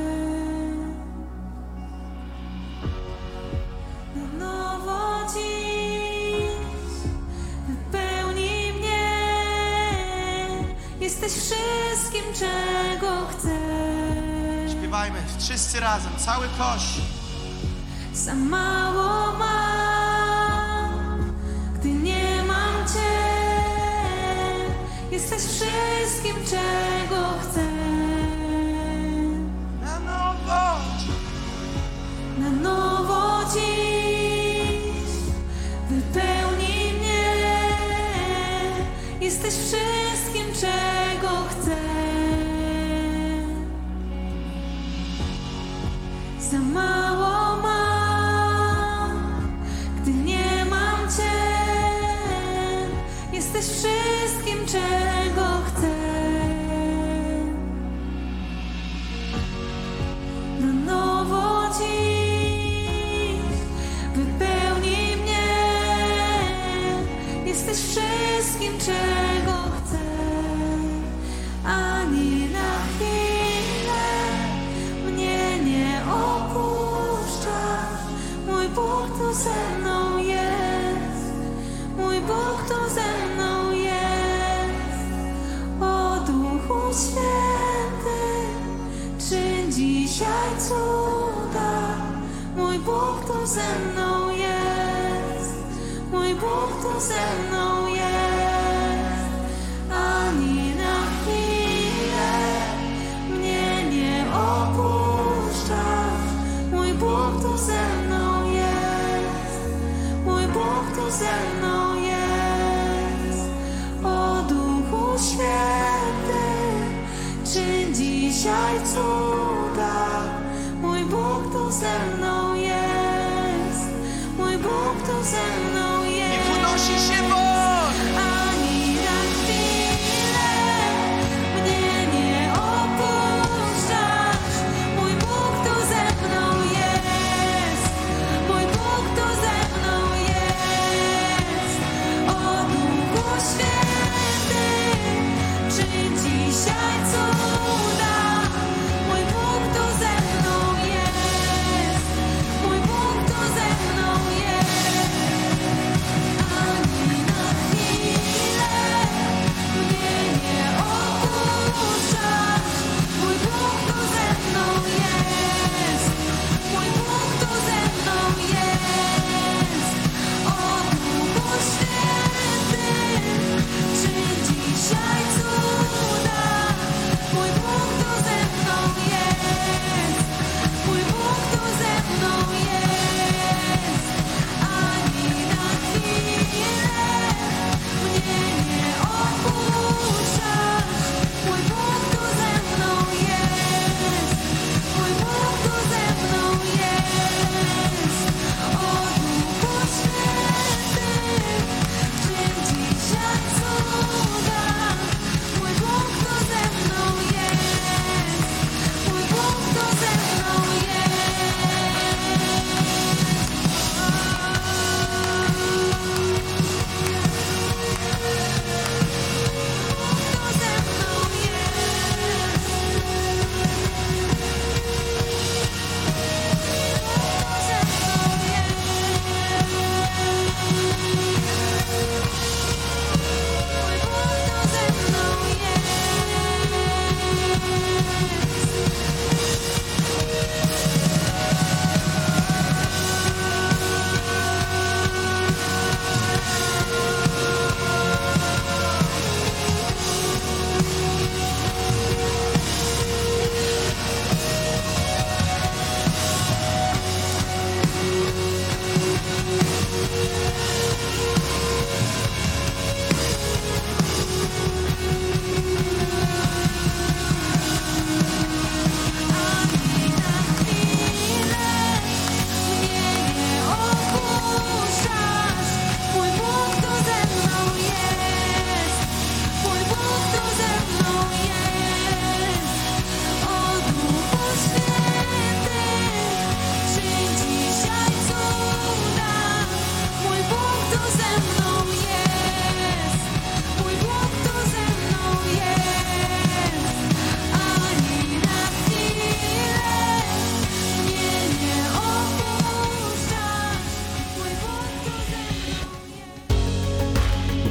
Na nowo dziś wypełnij mnie. Jesteś wszystkim, czego chcę. Śpiewajmy wszyscy razem, cały kościół. Za mało mam, gdy nie mam Cię. Jesteś wszystkim, czego chcę. Na nowo. Na nowo dziś wypełnij mnie. Jesteś wszystkim, czego chcę. Za mało mam, gdy nie mam Cię. Jesteś wszystkim, czego chcę. Na nowo dziś wypełnij mnie. Jesteś wszystkim, czego chcę. Ani na chwilę mnie nie opuszczasz. Mój Bóg tu ze mną jest. Mój Bóg tu ze mną jest. O Duchu Święty, czyń dzisiaj cuda. Mój Bóg tu ze mną jest. Mój Bóg tu ze mną jest. Ani na chwilę mnie nie opuszczasz. Mój Bóg tu ze mną jest. Mój Bóg tu ze mną jest. O Duchu Święty, czyń dzisiaj cuda. Mój Bóg tu ze mną jest. Mój Bóg tu ze mną jest. Niech unosi się Bóg. Ani na chwilę mnie nie opuszczasz. Mój Bóg tu ze mną jest. Mój Bóg tu ze mną jest. O Duchu Święty, czyń dzisiaj cuda. Mój Bóg tu ze mną jest.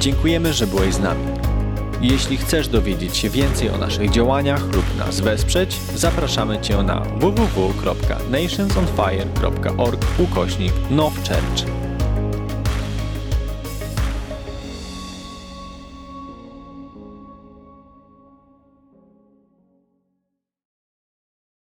Dziękujemy, że byłeś z nami. Jeśli chcesz dowiedzieć się więcej o naszych działaniach lub nas wesprzeć, zapraszamy Cię na www.nationsonfire.org/nowchurch.